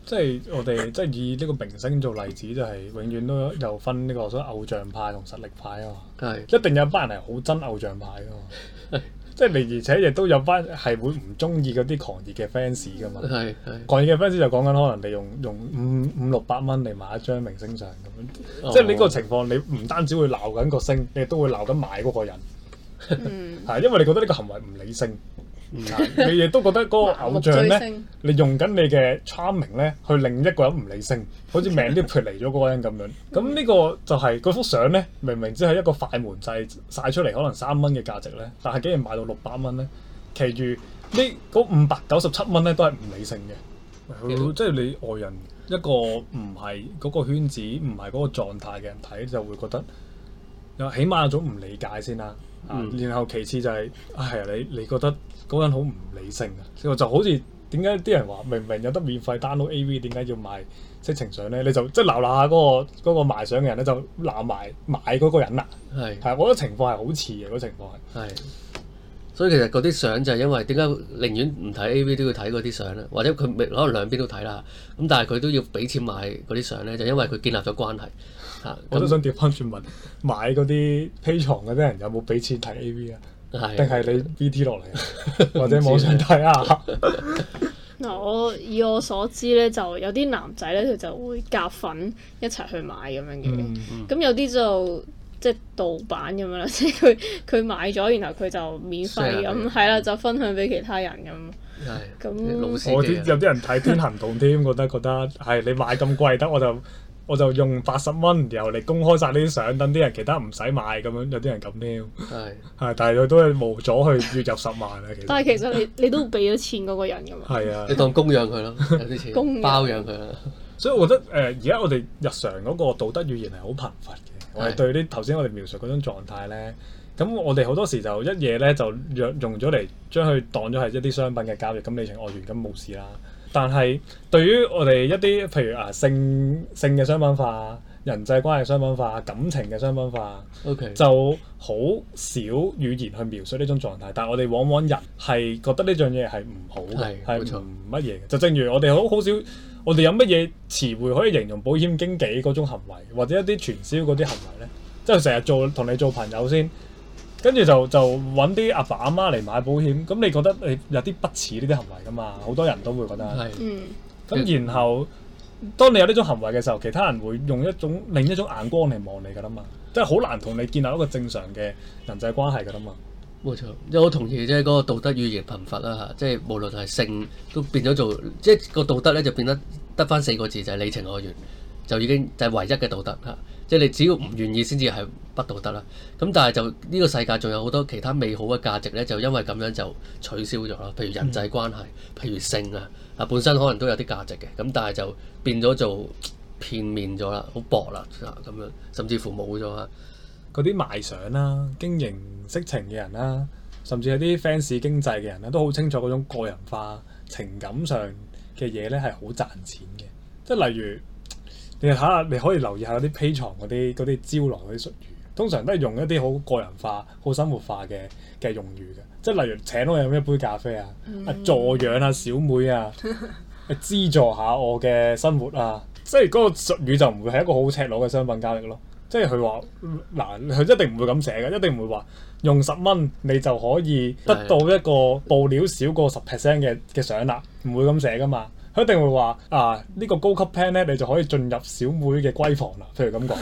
即係我哋即係以呢個明星做例子，就係永遠都有分呢個所謂偶像派同實力派啊嘛。 係一定有班人係好憎偶像派噶嘛。即係你，而且亦都有班係會唔中意嗰啲狂熱嘅 fans 噶嘛。 係係。 狂熱嘅 fans 就講緊可能你用用五五六百蚊嚟買一張明星相咁樣， 哦、 即係呢個情況，你唔單止會鬧緊個星，你亦都會鬧緊買嗰個人。 嗯， 係因為你覺得呢個行為唔理性。嗯、你亦都覺得嗰個偶像咧，你用緊你嘅 charming 咧，去令一個人唔理性，好似命都脫離咗嗰個人咁樣。咁呢個就係嗰幅相咧，明明只係一個快門掣晒出嚟，可能三蚊嘅價值咧，但係竟然賣到六百蚊咧，其餘呢嗰五百九十七蚊咧都係唔理性嘅。即係你外人一個唔係嗰個圈子、唔係嗰個狀態嘅人睇，就會覺得有起碼有種唔理解先啦。啊，嗯、然後其次就係、是，係啊，你你覺得嗰個人好唔理性啊？就好似點解啲人話明明有得免費 download A V， 點解要賣色情相咧？你就即係鬧鬧下嗰個嗰、嗰個賣相嘅人咧，就鬧埋買嗰個人啦。係係是，我覺得情況係好似嘅，嗰、嗰個、情況係。係， 所以其實嗰啲相就係因為點解寧願唔睇 A V 都要睇嗰啲相咧？或者佢可能兩邊都睇啦，咁但係佢都要俾錢買嗰啲相咧，就因為佢建立咗關係。啊、 我都想調翻轉問，買嗰啲 Patreon嗰啲人有冇俾錢睇 A V 啊？定係的你 B T 落嚟，或者網上睇啊？ 嗱，我以我所知咧，就有啲男仔咧，佢就會夾粉一齊去買咁樣嘅。咁、嗯嗯、有啲就即係盜版咁樣啦，即係佢佢買咗，然後佢就免費咁，係啦，就分享俾其他人咁。係。咁我啲有啲人睇天行道添，覺得覺得係你買咁貴得我就。我就用八十蚊，然後你公開晒呢啲相，等啲人其他唔使買咁樣，有啲人咁添。係係，但係佢都係無阻去月入十萬啊！其實。但係其實你你都俾咗錢嗰個人㗎嘛。係啊， 你當供養佢咯，有啲錢。供養包養佢啦。 所以我覺得誒，而家我哋日常嗰個道德語言係好貧乏嘅。我哋對啲頭先我哋描述嗰種狀態咧，咁我哋好多時就一嘢咧就用用咗嚟將佢當咗係一啲商品嘅交易，咁你情我願咁冇事啦。但係對於我哋一啲譬如啊性性嘅商品化、人際關係商品化、感情嘅商品化，Okay. 就好少語言去描述呢種狀態。但係我哋往往人係覺得呢樣嘢係唔好嘅，係唔乜嘢嘅。就正如我哋好好少，我哋有乜嘢詞彙可以形容保險經紀嗰種行為，或者一啲傳銷嗰啲行為咧？即係成日做同你做朋友先。跟住就就揾啲阿爸阿媽嚟買保險，咁你覺得你有啲不似呢啲行為噶嘛？好多人都會覺得係。嗯。咁然後，當你有呢種行為嘅時候，其他人會用一種另一種眼光嚟望你噶啦嘛，即係好難同你建立一個正常嘅人際關係噶啦嘛。冇錯， 即係我同意，即係嗰個道德語言貧乏啦嚇，即係無論係性都變咗做，即係個道德咧就變得得返四個字，就係、是、你情我願，就已經就係唯一嘅道德嚇。即係你只要唔願意先至係不道德啦。咁但係就呢、這個世界仲有好多其他美好嘅價值咧，就因為咁樣就取消咗啦。譬如人際關係，嗯、譬如性啊，啊本身可能都有啲價值嘅，咁但係就變咗做片面咗啦，好薄啦啊咁樣，甚至乎冇咗啊。 嗰啲賣相啦、經營色情嘅人啦，甚至係啲 fans 經濟嘅人咧，都好清楚嗰種個人化情感上嘅嘢咧係好賺錢嘅。即係例如。你睇下，你可以留意下啲 Patreon嗰啲嗰啲招來嗰啲術語，通常都係用一啲好個人化、好生活化嘅嘅用語嘅，即係例如請我飲一杯咖啡啊，嗯、啊助養下小妹啊，資助下我嘅生活啊，即係嗰個術語就唔會係一個好赤裸嘅商品交易咯。即係佢話嗱，佢一定唔會咁寫嘅，一定唔會話用十蚊你就可以得到一個布料少過十 percent 嘅嘅相啦，唔會咁寫噶嘛。佢一定會話啊，呢、呢個高級 plan 咧，你就可以進入小妹嘅閨房啦。譬如咁講，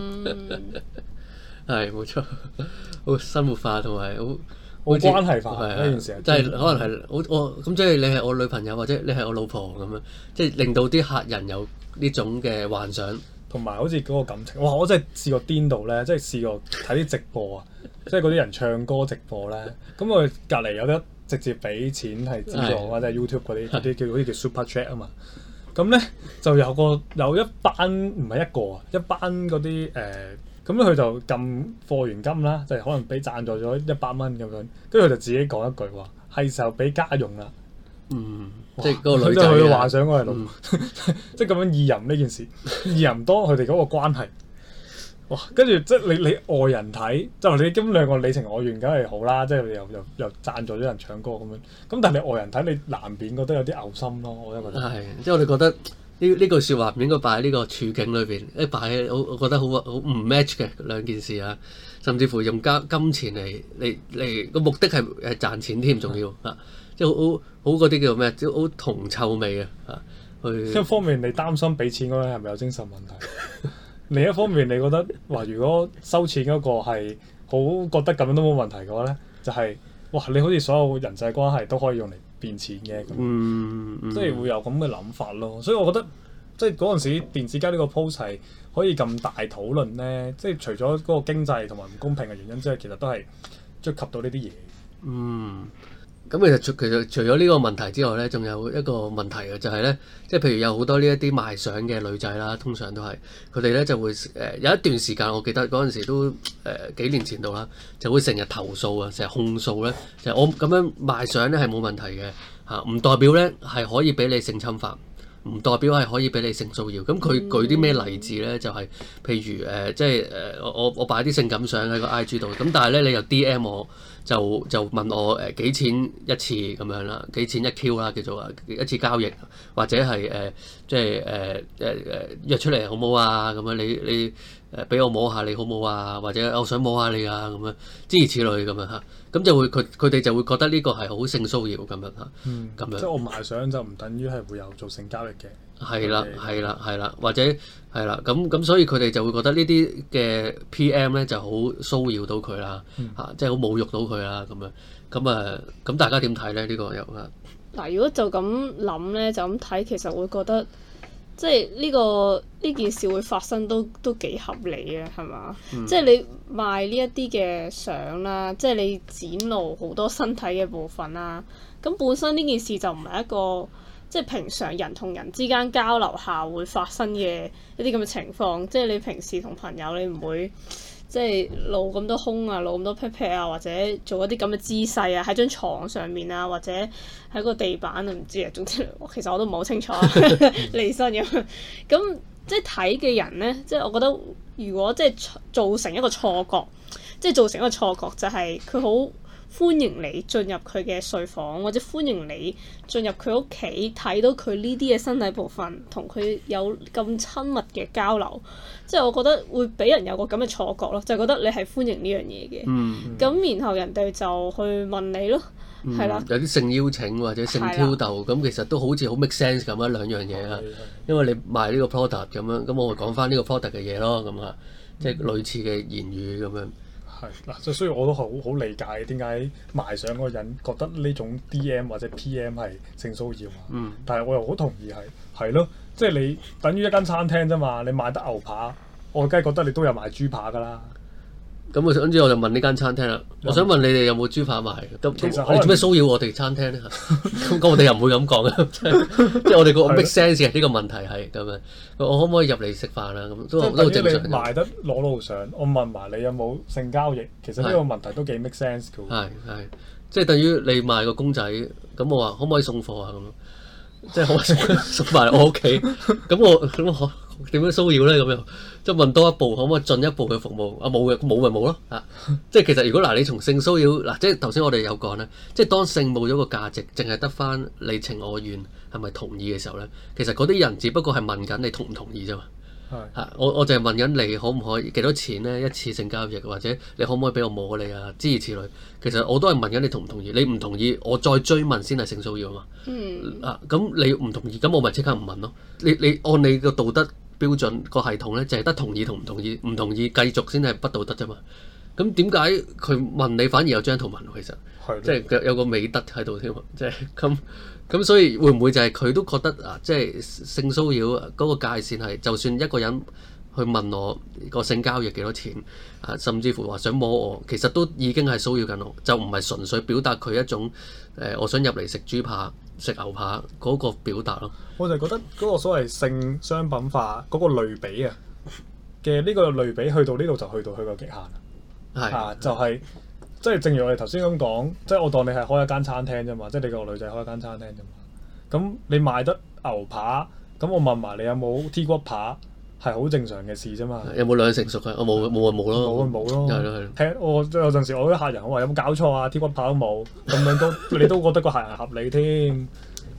係冇錯，好生活化同埋好好關係化呢件事， 即係可能係我我咁即係你係我女朋友或者你係我老婆咁樣，即係令到啲客人有呢種嘅幻想， 同埋好似嗰個感情。哇！我真係試過顛到咧，即係試過睇啲直播啊，即係嗰啲人唱歌直播咧，咁佢隔離有得。直接俾錢係資助或者係 YouTube 嗰啲嗰啲叫好似叫 Super Chat 啊嘛，咁咧就有個有一班唔係一個啊，一班嗰啲誒，咁咧佢就撳貨源金啦，就係、是、可能俾贊助咗一百蚊咁樣，跟住佢就自己講一句話，係時候俾家用啦。 嗯， 哇即係嗰個女仔佢嘅幻想嗰係老， 嗯、 即係咁樣意淫呢件事，意淫多佢哋嗰個關係。哇！跟住即係你你外人睇，就你咁兩個你情我願，梗係好啦，即係又又又贊助咗人唱歌咁樣。咁但係你外人睇，你難免覺得有啲嘔心咯。我都覺得係，即係我哋覺得呢呢句説話唔應該擺喺呢個處境裏邊，一擺喺我我覺得好好唔 match 嘅兩件事啊，甚至乎用加金錢嚟嚟嚟個目的係係賺錢添，仲要啊，即係好好嗰啲叫咩？即係好銅臭味啊！啊，去一方面你擔心俾錢嗰個人係咪有精神問題，另一方面你覺得話如果收錢嗰個係好覺得咁樣都冇問題嘅話咧，就係、是、哇你好似所有人際關係都可以用嚟變錢嘅， 嗯嗯、 即係會有咁嘅諗法咯。所以我覺得即係嗰陣時電子雞呢個 post 係可以咁大討論咧，即係除咗嗰個經濟同埋唔公平嘅原因之外，其實都係觸及到呢啲嘢。 嗯，咁其實除其實除咗呢個問題之外咧，仲有一個問題嘅就係咧，即係譬如有好多呢一啲賣相嘅女仔啦，通常都係佢哋咧就會誒、呃、有一段時間，我記得嗰陣時都誒、呃、幾年前度啦，就會成日投訴啊，成日控訴咧，就係、我咁樣賣相咧係冇問題嘅嚇，唔代表咧係可以俾你性侵犯。唔代表係可以俾你性騷擾，咁佢舉啲咩例子咧？就係、是、譬如誒、呃，即係誒、呃，我我我擺啲性感相喺個 I G 度，咁但係咧你又 D M 我，就就問我誒、呃、幾錢一次咁樣啦，幾錢一 Q 啦，叫做啊一次交易，或者係誒、呃、即係誒誒誒約出嚟好唔好啊？咁樣你你誒俾我摸下你好唔好啊？或者我想摸下你啊咁樣，諸如此類咁樣嚇，咁就會佢佢哋就會覺得呢個係好性騷擾咁樣嚇，咁、嗯、樣即係我賣相就唔等於係會有做性交易嘅。 係啦，係啦，係啦，或者係啦，咁咁所以佢哋就會覺得呢啲嘅 P M 咧就好騷擾到佢啦，嚇、嗯，即係好侮辱到佢啦，咁樣，咁啊，咁大家點睇咧？呢、呢個又啊？ 嗱，如果就咁諗咧，就咁睇，其實會覺得即係呢個呢件事會發生都都幾合理嘅，係嘛？嗯、即係你賣呢一啲嘅相啦，即係你展露好多身體嘅部分啦，咁本身呢件事就唔係一個。即係平常人同人之間交流下會發生嘅一啲咁嘅情況，即係你平時同朋友你唔會即係露咁多胸啊，露咁多 pat pat 啊，或者做一啲咁嘅姿勢啊，喺張床上面啊，或者喺個地板啊，唔知啊，總之其實我都唔係好清楚離身咁。咁即係睇嘅人咧，即係我覺得如果即係造成一個錯覺，即係造成一個錯覺就係佢好歡迎你進入佢嘅睡房，或者歡迎你進入佢屋企睇到佢呢啲嘅身體部分，同佢有咁親密嘅交流，即係我覺得會俾人有個咁嘅錯覺咯，就係覺得你係歡迎呢樣嘢嘅。咁、嗯、然後人哋就去問你咯，係啦、 嗯，有啲性邀請或者性挑逗，咁的其實都好似好 make sense 咁啊，兩樣嘢啊，因為你賣呢個 product 咁樣，咁我咪講翻呢個 product 嘅嘢咯，咁啊，即係類似嘅言語咁樣。 係嗱，即係所以我都好好理解點解賣相嗰個人覺得呢種 D M 或者 P M 係性騷擾啊。嗯。但係我又好同意係係咯，即係你等於一間餐廳啫嘛，你賣得牛扒，我梗係覺得你都有賣豬扒㗎啦。 咁我想知我就問呢間餐廳啦，我想問你哋有冇豬扒賣？咁你做咩騷擾我哋餐廳咧？咁咁我哋又唔會咁講嘅，即係我哋個 make sense 嘅呢個問題係咁樣。我可唔可以入嚟食飯啊？咁都都正常。你賣得裸露相，我問埋你有冇性交易，其實呢個問題都幾 make sense 嘅喎。 係係，即係等於你賣個公仔，咁我話可唔可以送貨啊？咁即係可唔可以送埋我屋企？咁我咁我點樣騷擾咧？咁樣即係問多一步，可唔可以進一步嘅服務？啊冇嘅，冇咪冇咯嚇！即係其實如果嗱，你從性騷擾嗱，即係頭先我哋有講咧，即係當性冇咗個價值，淨係得翻你情我願係咪同意嘅時候咧，其實嗰啲人只不過係問緊你同唔同意啫嘛。係嚇，我我就係問緊你可唔可以幾多錢咧一次性交易，或者你可唔可以俾我摸你啊？諸如此類，其實我都係問緊你同唔同意。你唔同意，我再追問先係性騷擾啊嘛。嗯。啊，咁你唔同意，咁我咪即刻唔問咯。你你按你個道德標準個系統咧，就係得同意同唔同意，唔同意繼續先係不道德啫嘛。咁點解佢問你反而有張圖文其實？係。即係有個美德喺度添，即係咁。咁所以會唔會就係佢都覺得啊，即係性騷擾嗰個界線係，就算一個人去問我個性交易幾多錢啊，甚至乎話想摸我，其實都已經係騷擾緊我，就唔係純粹表達佢一種誒、呃，我想入嚟食豬扒、食牛扒嗰個表達咯。 我就覺得嗰個所謂性商品化嗰個類比啊嘅呢個類比去到呢度就去到佢個極限啦。係啊，就係、是。即係正如我哋頭先咁講，即係我當你係開一間餐廳啫嘛，即係你個女仔開一間餐廳啫嘛。咁你賣得牛扒，咁我問埋你有冇 T 骨扒，係好正常嘅事啫嘛。 有冇兩成熟啊？我冇冇咪冇咯。 冇咪冇咯。 係咯係咯。 聽我有陣時我啲客人我話有冇搞錯啊？T 骨扒都冇，咁樣都你都覺得個客人合理添。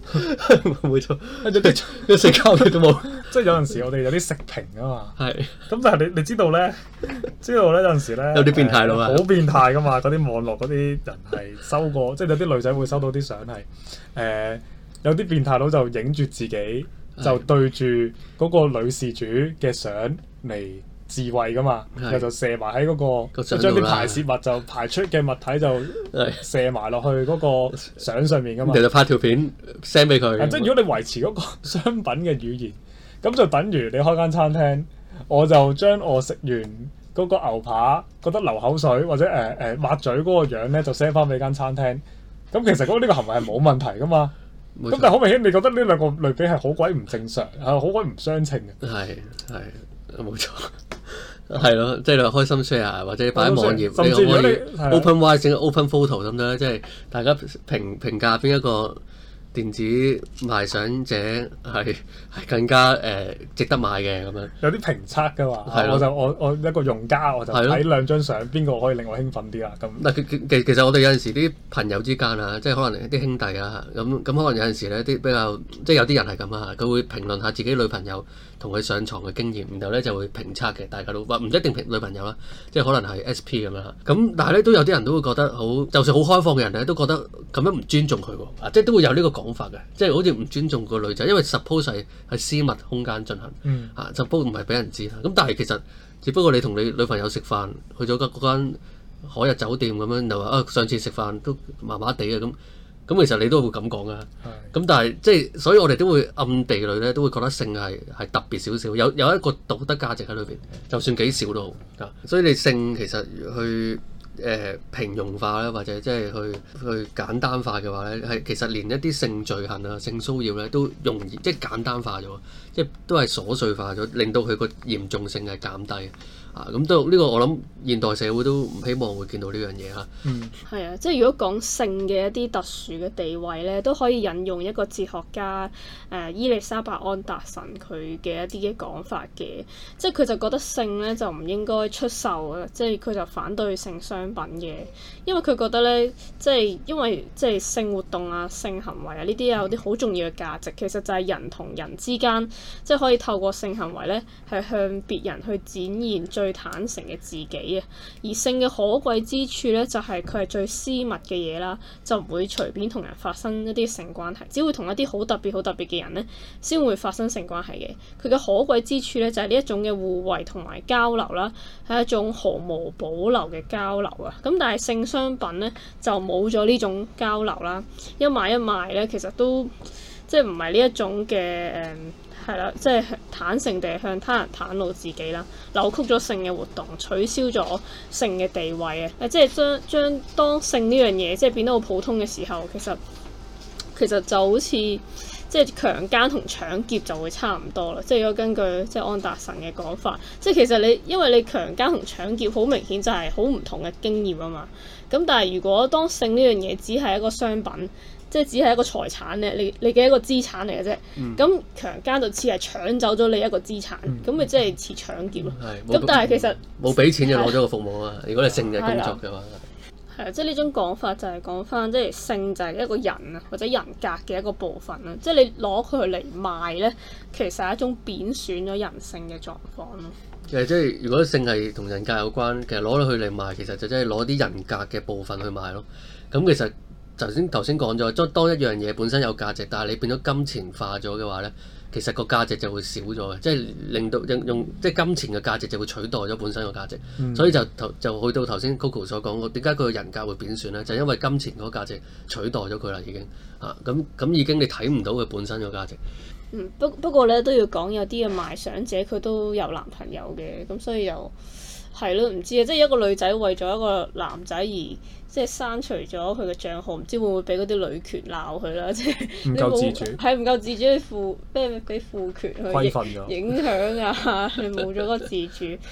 冇錯， 跟住啲一食交嘅都冇。 即係有陣時我哋有啲食評啊嘛。 係。 咁但係你你知道咧，知道咧有陣時咧有啲變態佬啊， 好變態噶嘛！嗰啲網絡嗰啲人係收過，即係有啲女仔會收到啲相係誒，有啲變態佬就影住自己，就對住嗰個女事主嘅相嚟自慰噶嘛，然後就射埋喺嗰個，將啲排泄物就排出嘅物體就射埋落去嗰個相上面噶嘛。 其實拍條片 send 俾佢。 即係如果你維持嗰個商品嘅語言，咁就等於你開間餐廳，我就將我食完嗰個牛扒覺得流口水或者誒誒抹嘴嗰個樣咧，就 send 翻俾間餐廳。咁其實嗰呢個行為係冇問題噶嘛。咁但係好明顯，你覺得呢兩個類比係好鬼唔正常，係好鬼唔相稱嘅。 係係冇錯。係咯，即係你開心 share 或者擺喺網頁， 甚至如果你， 你可以 open wide 整個 open photo 咁樣，即係大家評評價邊一個電子賣相者係係更加誒、呃、值得買嘅咁樣。有啲評測㗎嘛，我就我我一個用家我就睇兩張相，邊個可以令我興奮啲啦咁。 嗱，其其其實我哋有陣時啲朋友之間啊，即係可能啲兄弟啊，咁咁可能有陣時咧啲比較，即係有啲人係咁啊，佢會評論下自己女朋友同佢上床嘅經驗，然後咧就會評測嘅，大家都話唔一定評女朋友啦，即係可能係 S P 咁樣啦。咁但係咧都有啲人都會覺得好，就算好開放嘅人咧都覺得咁樣唔尊重佢喎，啊即係都會有呢個講法嘅，即係好似唔尊重個女仔，因為 suppose 係喺私密空間進行， 嗯、 啊 suppose 唔係俾人知啦。咁但係其實只不過你同你女朋友食飯，去咗嗰間海逸酒店咁樣，就話啊上次食飯都麻麻地嘅咁。咁其實你都會咁講噶，咁但係即係，所以我哋都會暗地裏咧都會覺得性係係特別少少，有有一個道德價值喺裏邊，就算幾少都好啊。所以你性其實去誒、呃、平庸化咧，或者即係去去簡單化嘅話咧，係其實連一啲性罪行啊、性騷擾咧都容易即係簡單化咗，即係都係瑣碎化咗，令到佢個嚴重性係減低。啊，咁都呢個我諗現代社會都唔希望會見到呢樣嘢嚇。 嗯，係啊，即係如果講性嘅一啲特殊嘅地位咧，都可以引用一個哲學家誒、呃、伊麗莎白安達臣佢嘅一啲嘅講法嘅，即係佢就覺得性咧就唔應該出售啊，即係佢就反對性商品嘅，因為佢覺得咧，即係因為即係性活動啊、性行為啊呢啲有啲好重要嘅價值，其實就係人同人之間即係可以透過性行為咧係向別人去展現最坦誠嘅自己啊，而性嘅可貴之處咧，就係佢係最私密嘅嘢啦，就唔會隨便同人發生一啲性關係，只會同一啲好特別、好特別嘅人咧，先會發生性關係嘅。佢嘅可貴之處咧，就係呢一種嘅互惠同埋交流啦，係一種毫無保留嘅交流啊。咁但係性商品咧就冇咗呢種交流啦，一買一賣咧，其實都即係唔係呢一種嘅誒。嗯係啦，即係坦誠地向他人袒露自己啦，扭曲咗性嘅活動，取消咗性嘅地位啊！誒，即係將將當性呢樣嘢即係變得好普通嘅時候，其實其實就好似即係強姦同搶劫就會差唔多啦。即係如果根據即係安達臣嘅講法，即係其實你因為你強姦同搶劫好明顯就係好唔同嘅經驗啊嘛。咁但係如果當性呢樣嘢只係一個商品，即係只係一個財產咧，你你嘅一個資產嚟嘅啫。咁、嗯、強姦就似係搶走咗你一個資產，咁咪即係似搶劫咯。咁但係其實冇俾錢就攞咗個服務啊！如果你性嘅工作嘅話， 係啊，即係呢種講法就係講翻，即係性就係一個人啊或者人格嘅一個部分啦。即係你攞佢嚟賣咧，其實係一種貶損咗人性嘅狀況咯。 其實即係如果性係同人格有關，其實攞咗佢嚟賣，其實就真係攞啲人格嘅部分去賣咯。咁其實頭先頭先講咗，當當一樣嘢本身有價值，但係你變咗金錢化咗嘅話咧，其實個價值就會少咗嘅，即係令到用用即係金錢嘅價值就會取代咗本身個價值，嗯、所以就頭就去到頭先 Coco 所講嘅，點解佢個人格會貶損咧？就係、因為金錢嗰個價值取代咗佢啦，已經啊咁咁已經你睇唔到佢本身個價值。 嗯，不不過咧都要講有啲嘅賣相者佢都有男朋友嘅，咁所以又係咯，唔知啊，即係一個女仔為咗一個男仔而。即係刪除咗佢嘅帳號，唔知會唔會俾嗰啲女權鬧佢啦？即係唔夠自主， 係唔夠自主去賦咩俾賦權去影響啊！你冇咗個自主，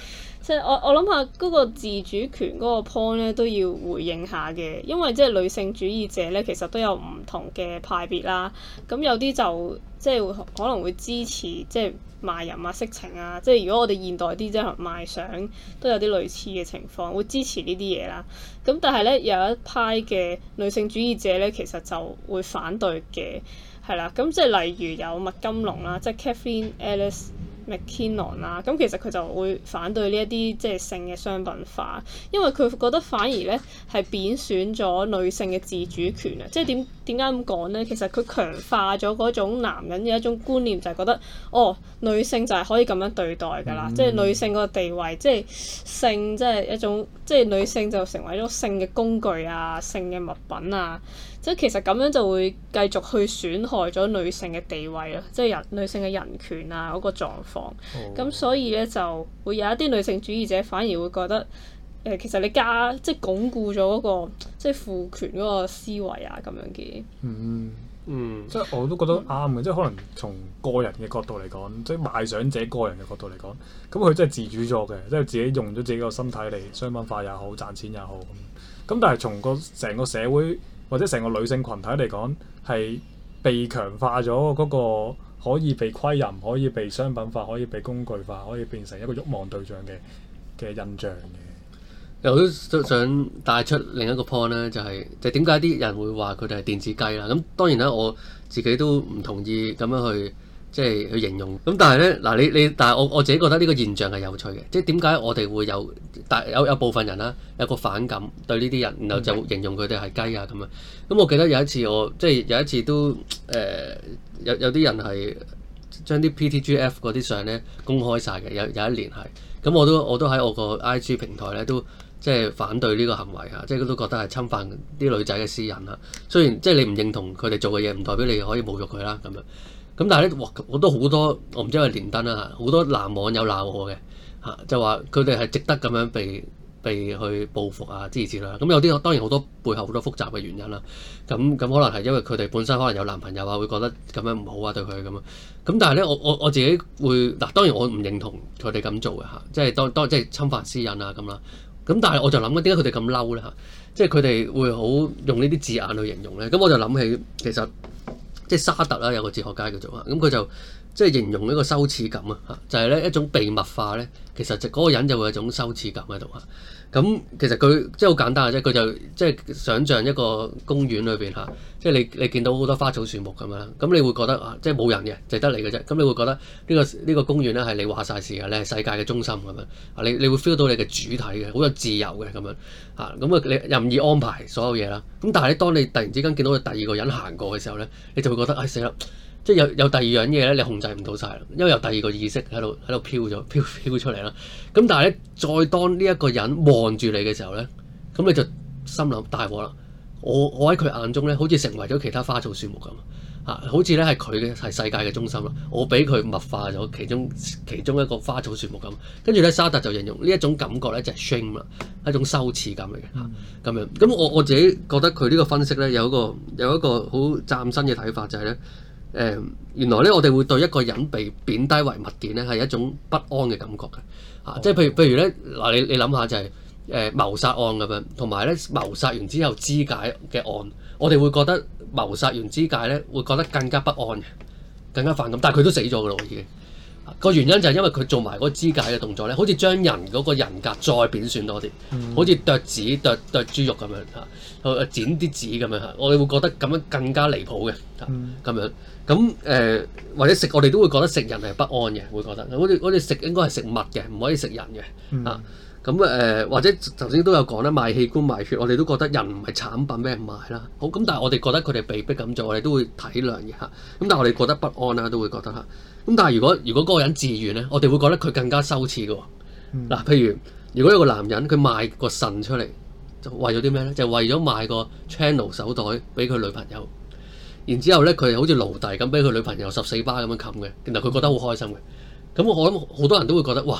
即係我我諗下嗰個自主權嗰個 point 咧都要回應下嘅，因為即係女性主義者咧其實都有唔同嘅派別啦。咁有啲就即係可能會支持即係賣淫啊、色情啊，即係如果我哋現代啲即係賣相都有啲類似嘅情況，會支持呢啲嘢啦。咁但係咧有一派嘅女性主義者咧，其實就會反對嘅，係啦。咁即係例如有麥金龍啦，即係 Kathleen Alice McKinnon 啦，咁其實佢就會反對呢一啲即係性嘅商品化，因為佢覺得反而咧係貶損咗女性嘅自主權啊！即係點點解咁講咧？其實佢強化咗嗰種男人嘅一種觀念，就係覺得哦，女性就係可以咁樣對待㗎啦，嗯、即係女性個地位，即係性，即係一種，即係女性就成為咗性嘅工具啊，性嘅物品啊。即係其實咁樣就會繼續去損害咗女性嘅地位咯，即係人女性嘅人權啊嗰個狀況。咁、oh. 所以咧就會有一啲女性主義者反而會覺得誒、呃，其實你加即係鞏固咗嗰、嗰個即係父權嗰個思維啊咁樣嘅。 嗯嗯， 即係我都覺得啱嘅，即係可能從個人嘅角度嚟講，即係賣相者個人嘅角度嚟講，咁佢真係自主咗嘅，即係自己用咗自己個身體嚟商品化也好，賺錢也好咁。咁但係從個成個社會或者成個女性群體嚟講，係被強化咗嗰個可以被窺淫、可以被商品化、可以被工具化、可以變成一個慾望對象嘅嘅印象嘅。 我都想帶出另一個 point 咧，就係就點解啲人會話佢哋係電子雞啦？咁當然啦，我自己都唔同意咁樣去即係去形容。咁但係咧嗱，你你但係我我自己覺得呢個現象係有趣嘅，即係點解我哋會有但有有部分人啦有個反感對呢啲人，然後就形容佢哋係雞啊咁樣。咁我記得有一次我即係有一次都誒、呃、有有啲人係將啲 P T G F 嗰啲相咧公開晒嘅，有有一年係咁我都我都喺我個 I G 平台咧都。即係反對呢個行為嚇，即係都覺得係侵犯啲女仔嘅私隱嚇。雖然即係你唔認同佢哋做嘅嘢，唔代表你可以侮辱佢啦咁樣。咁但係咧，哇！我都好多，我唔知係咪連登啦嚇，好多男網友鬧我嘅嚇，就話佢哋係值得咁樣被被去報復啊之類之類啦。咁有啲當然好多背後好多複雜嘅原因啦。咁咁可能係因為佢哋本身可能有男朋友啊，會覺得咁樣唔好啊對佢咁啊。咁但係咧，我我我自己會嗱，當然我唔認同佢哋咁做嘅嚇，即係當當即係侵犯私隱啊咁啦。咁但係我就諗緊點解佢哋咁嬲咧嚇？即係佢哋會好用呢啲字眼去形容咧。咁我就諗起其實即係沙特啦，有個哲學家叫做啊，咁佢就即係形容一個羞恥感啊嚇，就係咧一種被物化咧，其實就嗰個人就會有一種羞恥感喺度嚇。咁其實佢即係好簡單嘅啫，佢就即係想像一個公園裏邊嚇，即係你你見到好多花草樹木咁樣，咁你會覺得啊，即係冇人嘅，就得你嘅啫。咁你會覺得呢個呢個公園咧係你話晒事嘅，你係世界嘅中心咁樣啊，你你會 feel 到你嘅主體嘅，好有自由嘅咁樣啊，咁啊你任意安排所有嘢啦。咁但係咧，當你突然之間見到第二個人行過嘅時候咧，你就會覺得唉死啦！即係有有第二樣嘢咧，你控制唔到晒啦，因為有第二個意識喺度喺度飄咗飄飄出嚟啦。咁但係咧，再當呢一個人望住你嘅時候咧，咁你就心諗大禍啦！我我喺佢眼中咧，好似成為咗其他花草樹木咁啊，好似咧係佢嘅係世界嘅中心啦。我俾佢物化咗其中其中一個花草樹木咁。跟住咧，沙特就形容呢一種感覺咧就係 shame 啦，係一種羞恥感嚟嘅嚇咁樣。咁我我自己覺得佢呢個分析咧有一個有一個好嶄新嘅睇法，就係咧。誒、呃、原來咧，我哋會對一個人被貶低為物件咧，係一種不安嘅感覺嘅嚇、啊。即係譬如譬如咧，嗱你你諗下就係、是、誒、呃、謀殺案咁樣，同埋咧謀殺完之後肢解嘅案，我哋會覺得謀殺完肢解咧會覺得更加不安嘅，更加反感。但係佢都死咗㗎啦，已經個原因就係因為佢做埋嗰個肢解嘅動作咧，好似將人嗰個人格再貶損多啲，嗯、好似剁紙剁剁豬肉咁樣嚇，剪啲紙咁樣嚇，我哋會覺得咁樣更加離譜嘅嚇咁樣。咁誒、呃、或者食我哋都會覺得食人係不安嘅，會覺得好似好似食應該係食物嘅，唔可以食人嘅嚇。咁誒、嗯啊、或者頭先都有講啦，賣器官賣血，我哋都覺得人唔係產品俾人賣啦。好咁，但係我哋覺得佢哋被逼咁做，我哋都會體諒嘅嚇。咁但係我哋覺得不安啦，都會覺得嚇。咁但係如果如果嗰個人自願咧，我哋會覺得佢更加羞恥嘅喎。嗱、嗯啊，譬如如果有個男人佢賣個腎出嚟，就為咗啲咩咧？就為咗賣個 channel 手袋俾佢女朋友。然之後咧，佢好似奴隸咁，俾佢女朋友十四巴咁樣冚嘅，然後佢覺得好開心嘅。咁我諗好多人都會覺得，哇！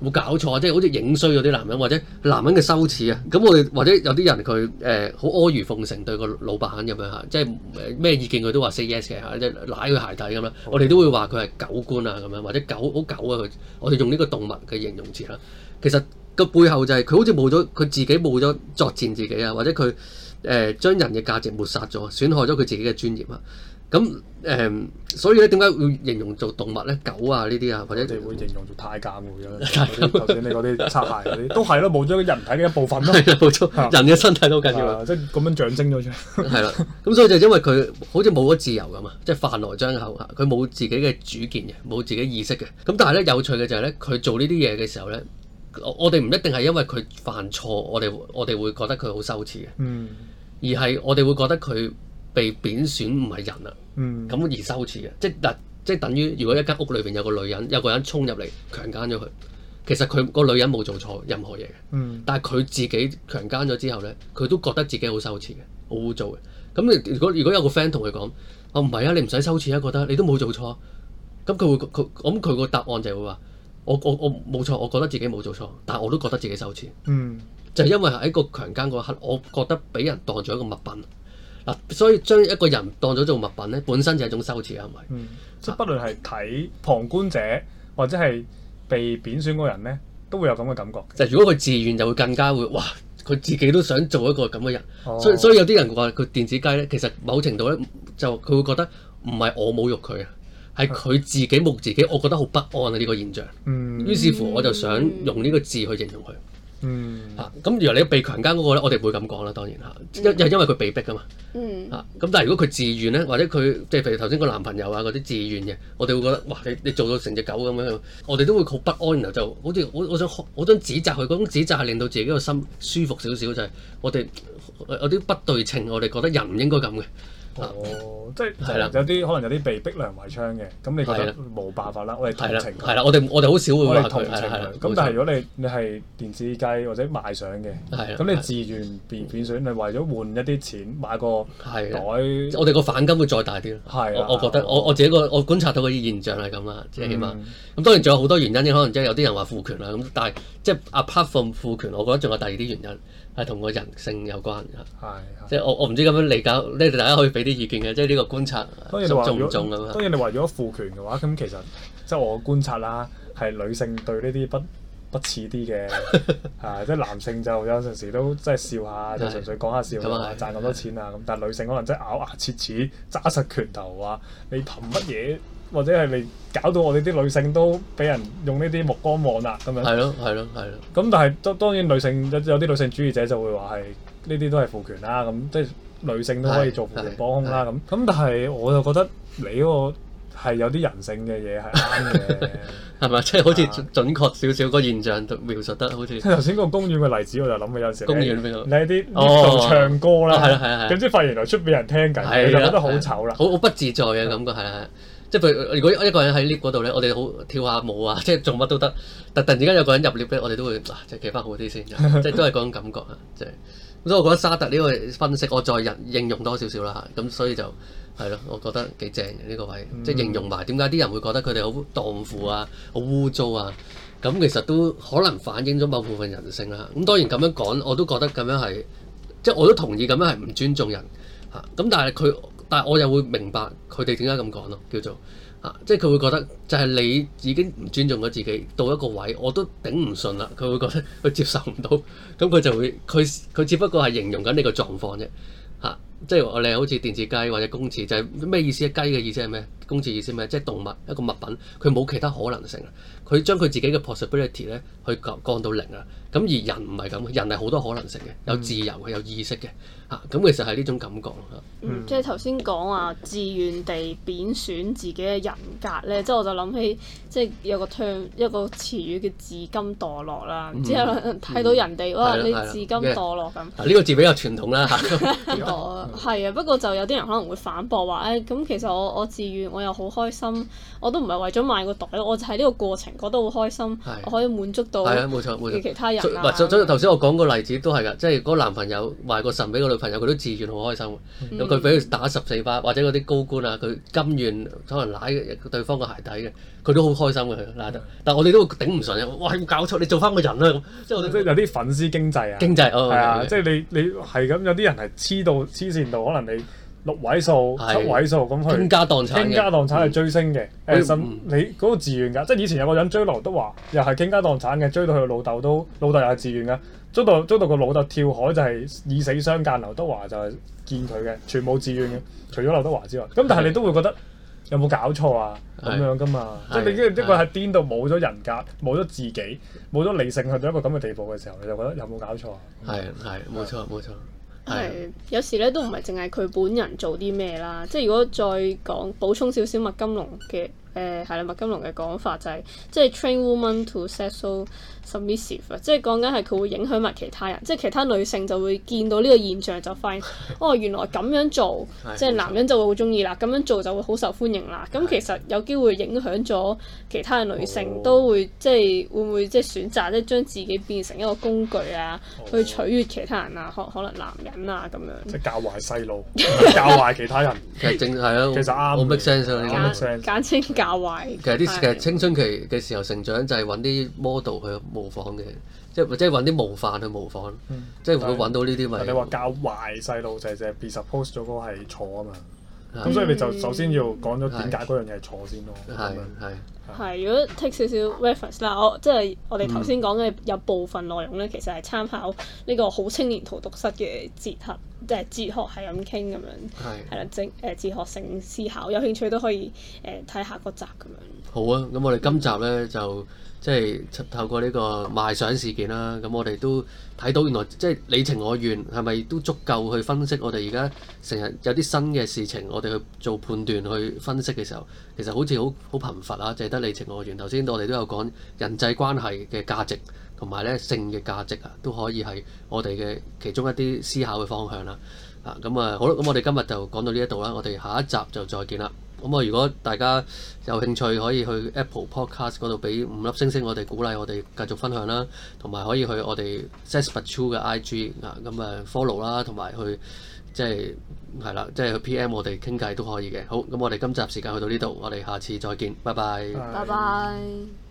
冇搞錯啊！即係好似影衰咗啲男人，或者男人嘅羞恥啊！咁我哋或者有啲人佢誒好阿諛奉承對個老闆咁樣嚇，即係咩意見佢都話 say yes 嘅嚇，即係舐佢鞋底咁樣。我哋都會話佢係狗官啊咁樣，或者狗好狗啊佢。我哋用呢個動物嘅形容詞啦。其實個背後就係佢好似冇咗佢自己冇咗作戰自己啊，或者佢誒將人嘅價值抹殺咗，損害咗佢自己嘅尊嚴啊。咁誒、嗯，所以咧點解會形容做動物咧？狗啊呢啲啊，或者我哋會形容做太監嘅，頭先你嗰啲擦鞋嗰啲都係咯，冇咗人體嘅一部分咯。 係啊，冇錯，人嘅身體都緊要啊， 即係咁樣象徵咗出嚟。 係啦，咁所以就因為佢好似冇咗自由咁啊，即係飯來張口啊，佢冇自己嘅主見嘅，冇自己意識嘅。咁但係咧有趣嘅就係咧，佢做呢啲嘢嘅時候咧，我我哋唔一定係因為佢犯錯，我哋我哋會覺得佢好羞恥嘅， 嗯， 而係我哋會覺得佢被貶選唔係人啊。 嗯， 咁而羞恥嘅，即係嗱，即係等於如果一間屋裏邊有個女人，有個人衝入嚟強姦咗佢，其實佢個女人冇做錯任何嘢嘅， 嗯， 但係佢自己強姦咗之後咧，佢都覺得自己好羞恥嘅，好污糟嘅。咁如果如果有個 friend 同佢講，我唔係啊，你唔使羞恥啊，覺得你都冇做錯，咁佢會佢咁佢個答案就係會話，我我我冇錯，我覺得自己冇做錯，但係我都覺得自己羞恥， 嗯， 就係因為喺個強姦嗰刻，我覺得俾人當咗一個物品。嗱，所以將一個人當咗做物品咧，本身就係一種羞恥，係咪？ 嗯，即係不論係睇旁觀者或者係被貶選嗰人咧，都會有咁嘅感覺。 就如果佢自願，就會更加會哇！佢自己都想做一個咁嘅人， 哦、 所以所以有啲人話佢電子雞咧，其實某程度咧就佢會覺得唔係我侮辱佢啊，係佢自己侮自己，我覺得好不安啊呢、呢個現象。 嗯， 於是乎我就想用呢個字去形容佢。 嗯， 嚇咁、啊，如果你被強姦嗰個咧，我哋唔會咁講啦，當然嚇，因因因為佢被逼噶嘛， 嗯， 嚇咁、啊，但係如果佢自願咧，或者佢即係譬如頭先個男朋友啊嗰啲自願嘅，我哋會覺得哇，你你做到成隻狗咁樣，我哋都會好不安，然後就好似我我想我想指責佢，嗰種指責係令到自己個心舒服少少，就係、是、我哋有啲不對稱，我哋覺得人唔應該咁嘅。 哦，即係係啦， 有啲可能有啲被逼良為娼嘅，咁你覺得冇辦法啦，我哋同情佢。 係啦，我哋我哋好少會話佢。 同情佢。咁但係如果你你係電子雞或者賣相嘅，咁你自願變變相，你為咗換一啲錢買個袋， 我哋個反感會再大啲咯。 係我我覺得我我自己個我觀察到嗰啲現象係咁啦，即係起碼。咁當然仲有好多原因嘅，可能即係有啲人話父權啦，咁但係即係 apart from 父權，我覺得仲有第二啲原因係同個人性有關嘅。係。即係我我唔知咁樣理解，你哋大家可以俾啲意見嘅，即係呢個觀察重唔重咁啊？ 當然你話如果父權嘅話，咁其實即係我觀察啦，係女性對呢啲不不似啲嘅，啊即係男性就有陣時都即係笑下，就純粹講下笑啊，賺咁多錢啊咁，但係女性可能真係咬牙切齒揸實拳頭話你憑乜嘢？或者係你搞到我哋啲女性都俾人用呢啲目光望啦咁樣。係咯，係咯，係咯。咁但係當當然女性有有啲女性主義者就會話係呢啲都係父權啦，咁即係女性都可以做父權幫兇啦咁。咁但係我就覺得你嗰個係有啲人性嘅嘢係啱嘅，係咪？即係好似準確少少個現象描述得好似。頭先個公園嘅例子我就諗起有陣時。公園邊度？你喺啲度唱歌啦，係係係。咁即係發現原來出邊人聽緊，你就覺得好醜啦。好好不自在嘅感覺係係。即係譬如，如果一個人喺 lift 嗰度咧，我哋好跳下舞啊，即係做乜都得。但突然之間有個人入 lift 咧，我哋都會啊，即係企翻好啲先，即係都係嗰種感覺啊，即係。咁所以我覺得沙特呢個分析，我再引應用多少少啦嚇。咁所以就係咯，我覺得幾正嘅呢個位，嗯、即係形容埋點解啲人會覺得佢哋好蕩婦啊、好污糟啊。咁其實都可能反映咗某部分人性啦。咁當然咁樣講，我都覺得咁樣係，即係我都同意咁樣係唔尊重人嚇。咁但係佢。但係我又會明白佢哋點解咁講咯，叫做啊，即係佢會覺得就係你已經唔尊重咗自己到一個位，我都頂唔順啦。佢會覺得佢接受唔到，咁佢就會佢佢只不過係形容緊你個狀況啫嚇，即係我哋好似電子雞或者公廁，就係、是、咩意思啊？雞嘅意思係咩？公廁意思咩？即係動物一個物品，佢冇其他可能性啊！佢將佢自己嘅 possibility 咧去降降到零啊！咁而人唔係咁，人係好多可能性嘅，有自由嘅，有意識嘅嚇。咁、啊、其實係呢種感覺咯。 嗯，即係頭先講話自願地貶損自己嘅人格咧，即係我就諗起即係有個 term 一個詞語叫自甘墮落啦。唔知睇到人哋哇，你自甘墮落咁。 呢個字比較傳統啦嚇。 係啊，不過就有啲人可能會反駁話誒，咁、哎、其實我我自願我又好開心，我都唔係為咗買個袋，我就喺呢個過程覺得好開心，我可以滿足到係啊，冇錯冇錯其他人啊。 所以頭先我講個例子都係㗎，即係嗰個男朋友賣個腎俾個女朋友，佢都自願好開心。咁佢俾佢打十四巴，或者嗰啲高官啊，佢甘願可能舐對方個鞋底嘅，佢都好開心嘅佢拉得。但係我哋都頂唔順嘅，哇！有冇搞錯？你做翻個人啦咁，即係我哋即係有啲粉絲經濟啊。 經濟哦， 係啊，即係你你係咁，有啲人係黐到黐線到，可能你六位數、七位數咁去傾家蕩產嘅， 傾家蕩產係追星嘅。誒，甚嗯你嗰個自願㗎，即係以前有個人追劉德華，又係傾家蕩產嘅，追到佢老豆都老豆又係自願㗎，追到追到個老豆跳海就係以死相間，劉德華就係見佢嘅，全部自願嘅，除咗劉德華之外。咁但係你都會覺得有冇搞錯啊？咁樣㗎嘛，即係你一個係癲到冇咗人格、冇咗自己、冇咗理性去到一個咁嘅地步嘅時候，你就覺得有冇搞錯啊？ 係係冇錯冇錯。 係有時咧都唔係淨係佢本人做啲咩啦，即係如果再講補充少少麥金龍嘅誒係啦，麥金龍嘅講法就係、是、即係 train woman to sexual submissive 啊，即係講緊係佢會影響埋其他人，即係其他女性就會見到呢個現象就發現哦原來咁樣做即係男人就會好中意啦，咁樣做就會好受歡迎啦。咁其實有機會影響咗其他嘅女性，都會即係會唔會即係選擇即係將自己變成一個工具啊，去取悅其他人啊，可可能男人啊咁樣。 即係教壞細路，教壞其他人。 其實正係咯， 其實啱， 好 make sense 啊呢個。 簡稱教壞。 其實啲其實青春期嘅時候成長就係揾啲 model 去模仿嘅，即係即係揾啲模範去模仿， 嗯、 即係會揾到呢啲咪。 你話教壞細路就係就係 presuppose 咗嗰個係錯啊嘛，咁、嗯、所以你就首先要講咗點解嗰樣嘢係錯先咯。 係係。 係，如果 take 少少 reference 啦，我即係我哋頭先講嘅有部分內容咧，其實係參考呢個好青年荼毒室嘅哲學，即係哲學係咁傾咁樣，係啦，正誒哲學性思考，有興趣都可以誒睇下個集咁樣。 好啊，咁我哋今集咧就即係透過呢個賣相事件啦，咁我哋都睇到原來即係你情我願係咪都足夠去分析我哋而家成日有啲新嘅事情，我哋去做判斷去分析嘅時候，其實好似好好貧乏啊，淨係得你情我願。頭先我哋都有講人際關係嘅價值同埋咧性嘅價值啊，都可以係我哋嘅其中一啲思考嘅方向啦。啊，咁啊好啦，咁我哋今日就講到呢一度啦，我哋下一集就再見啦。咁啊，如果大家有興趣，可以去 Apple Podcast 嗰度俾五粒星星，我哋鼓勵我哋繼續分享啦，同埋可以去我哋 Sex But True 嘅 I G 啊，咁啊 follow 啦，同埋去即係係啦，即係去 P M 我哋傾偈都可以嘅。好，咁我哋今集時間去到呢度，我哋下次再見，拜拜。 拜拜。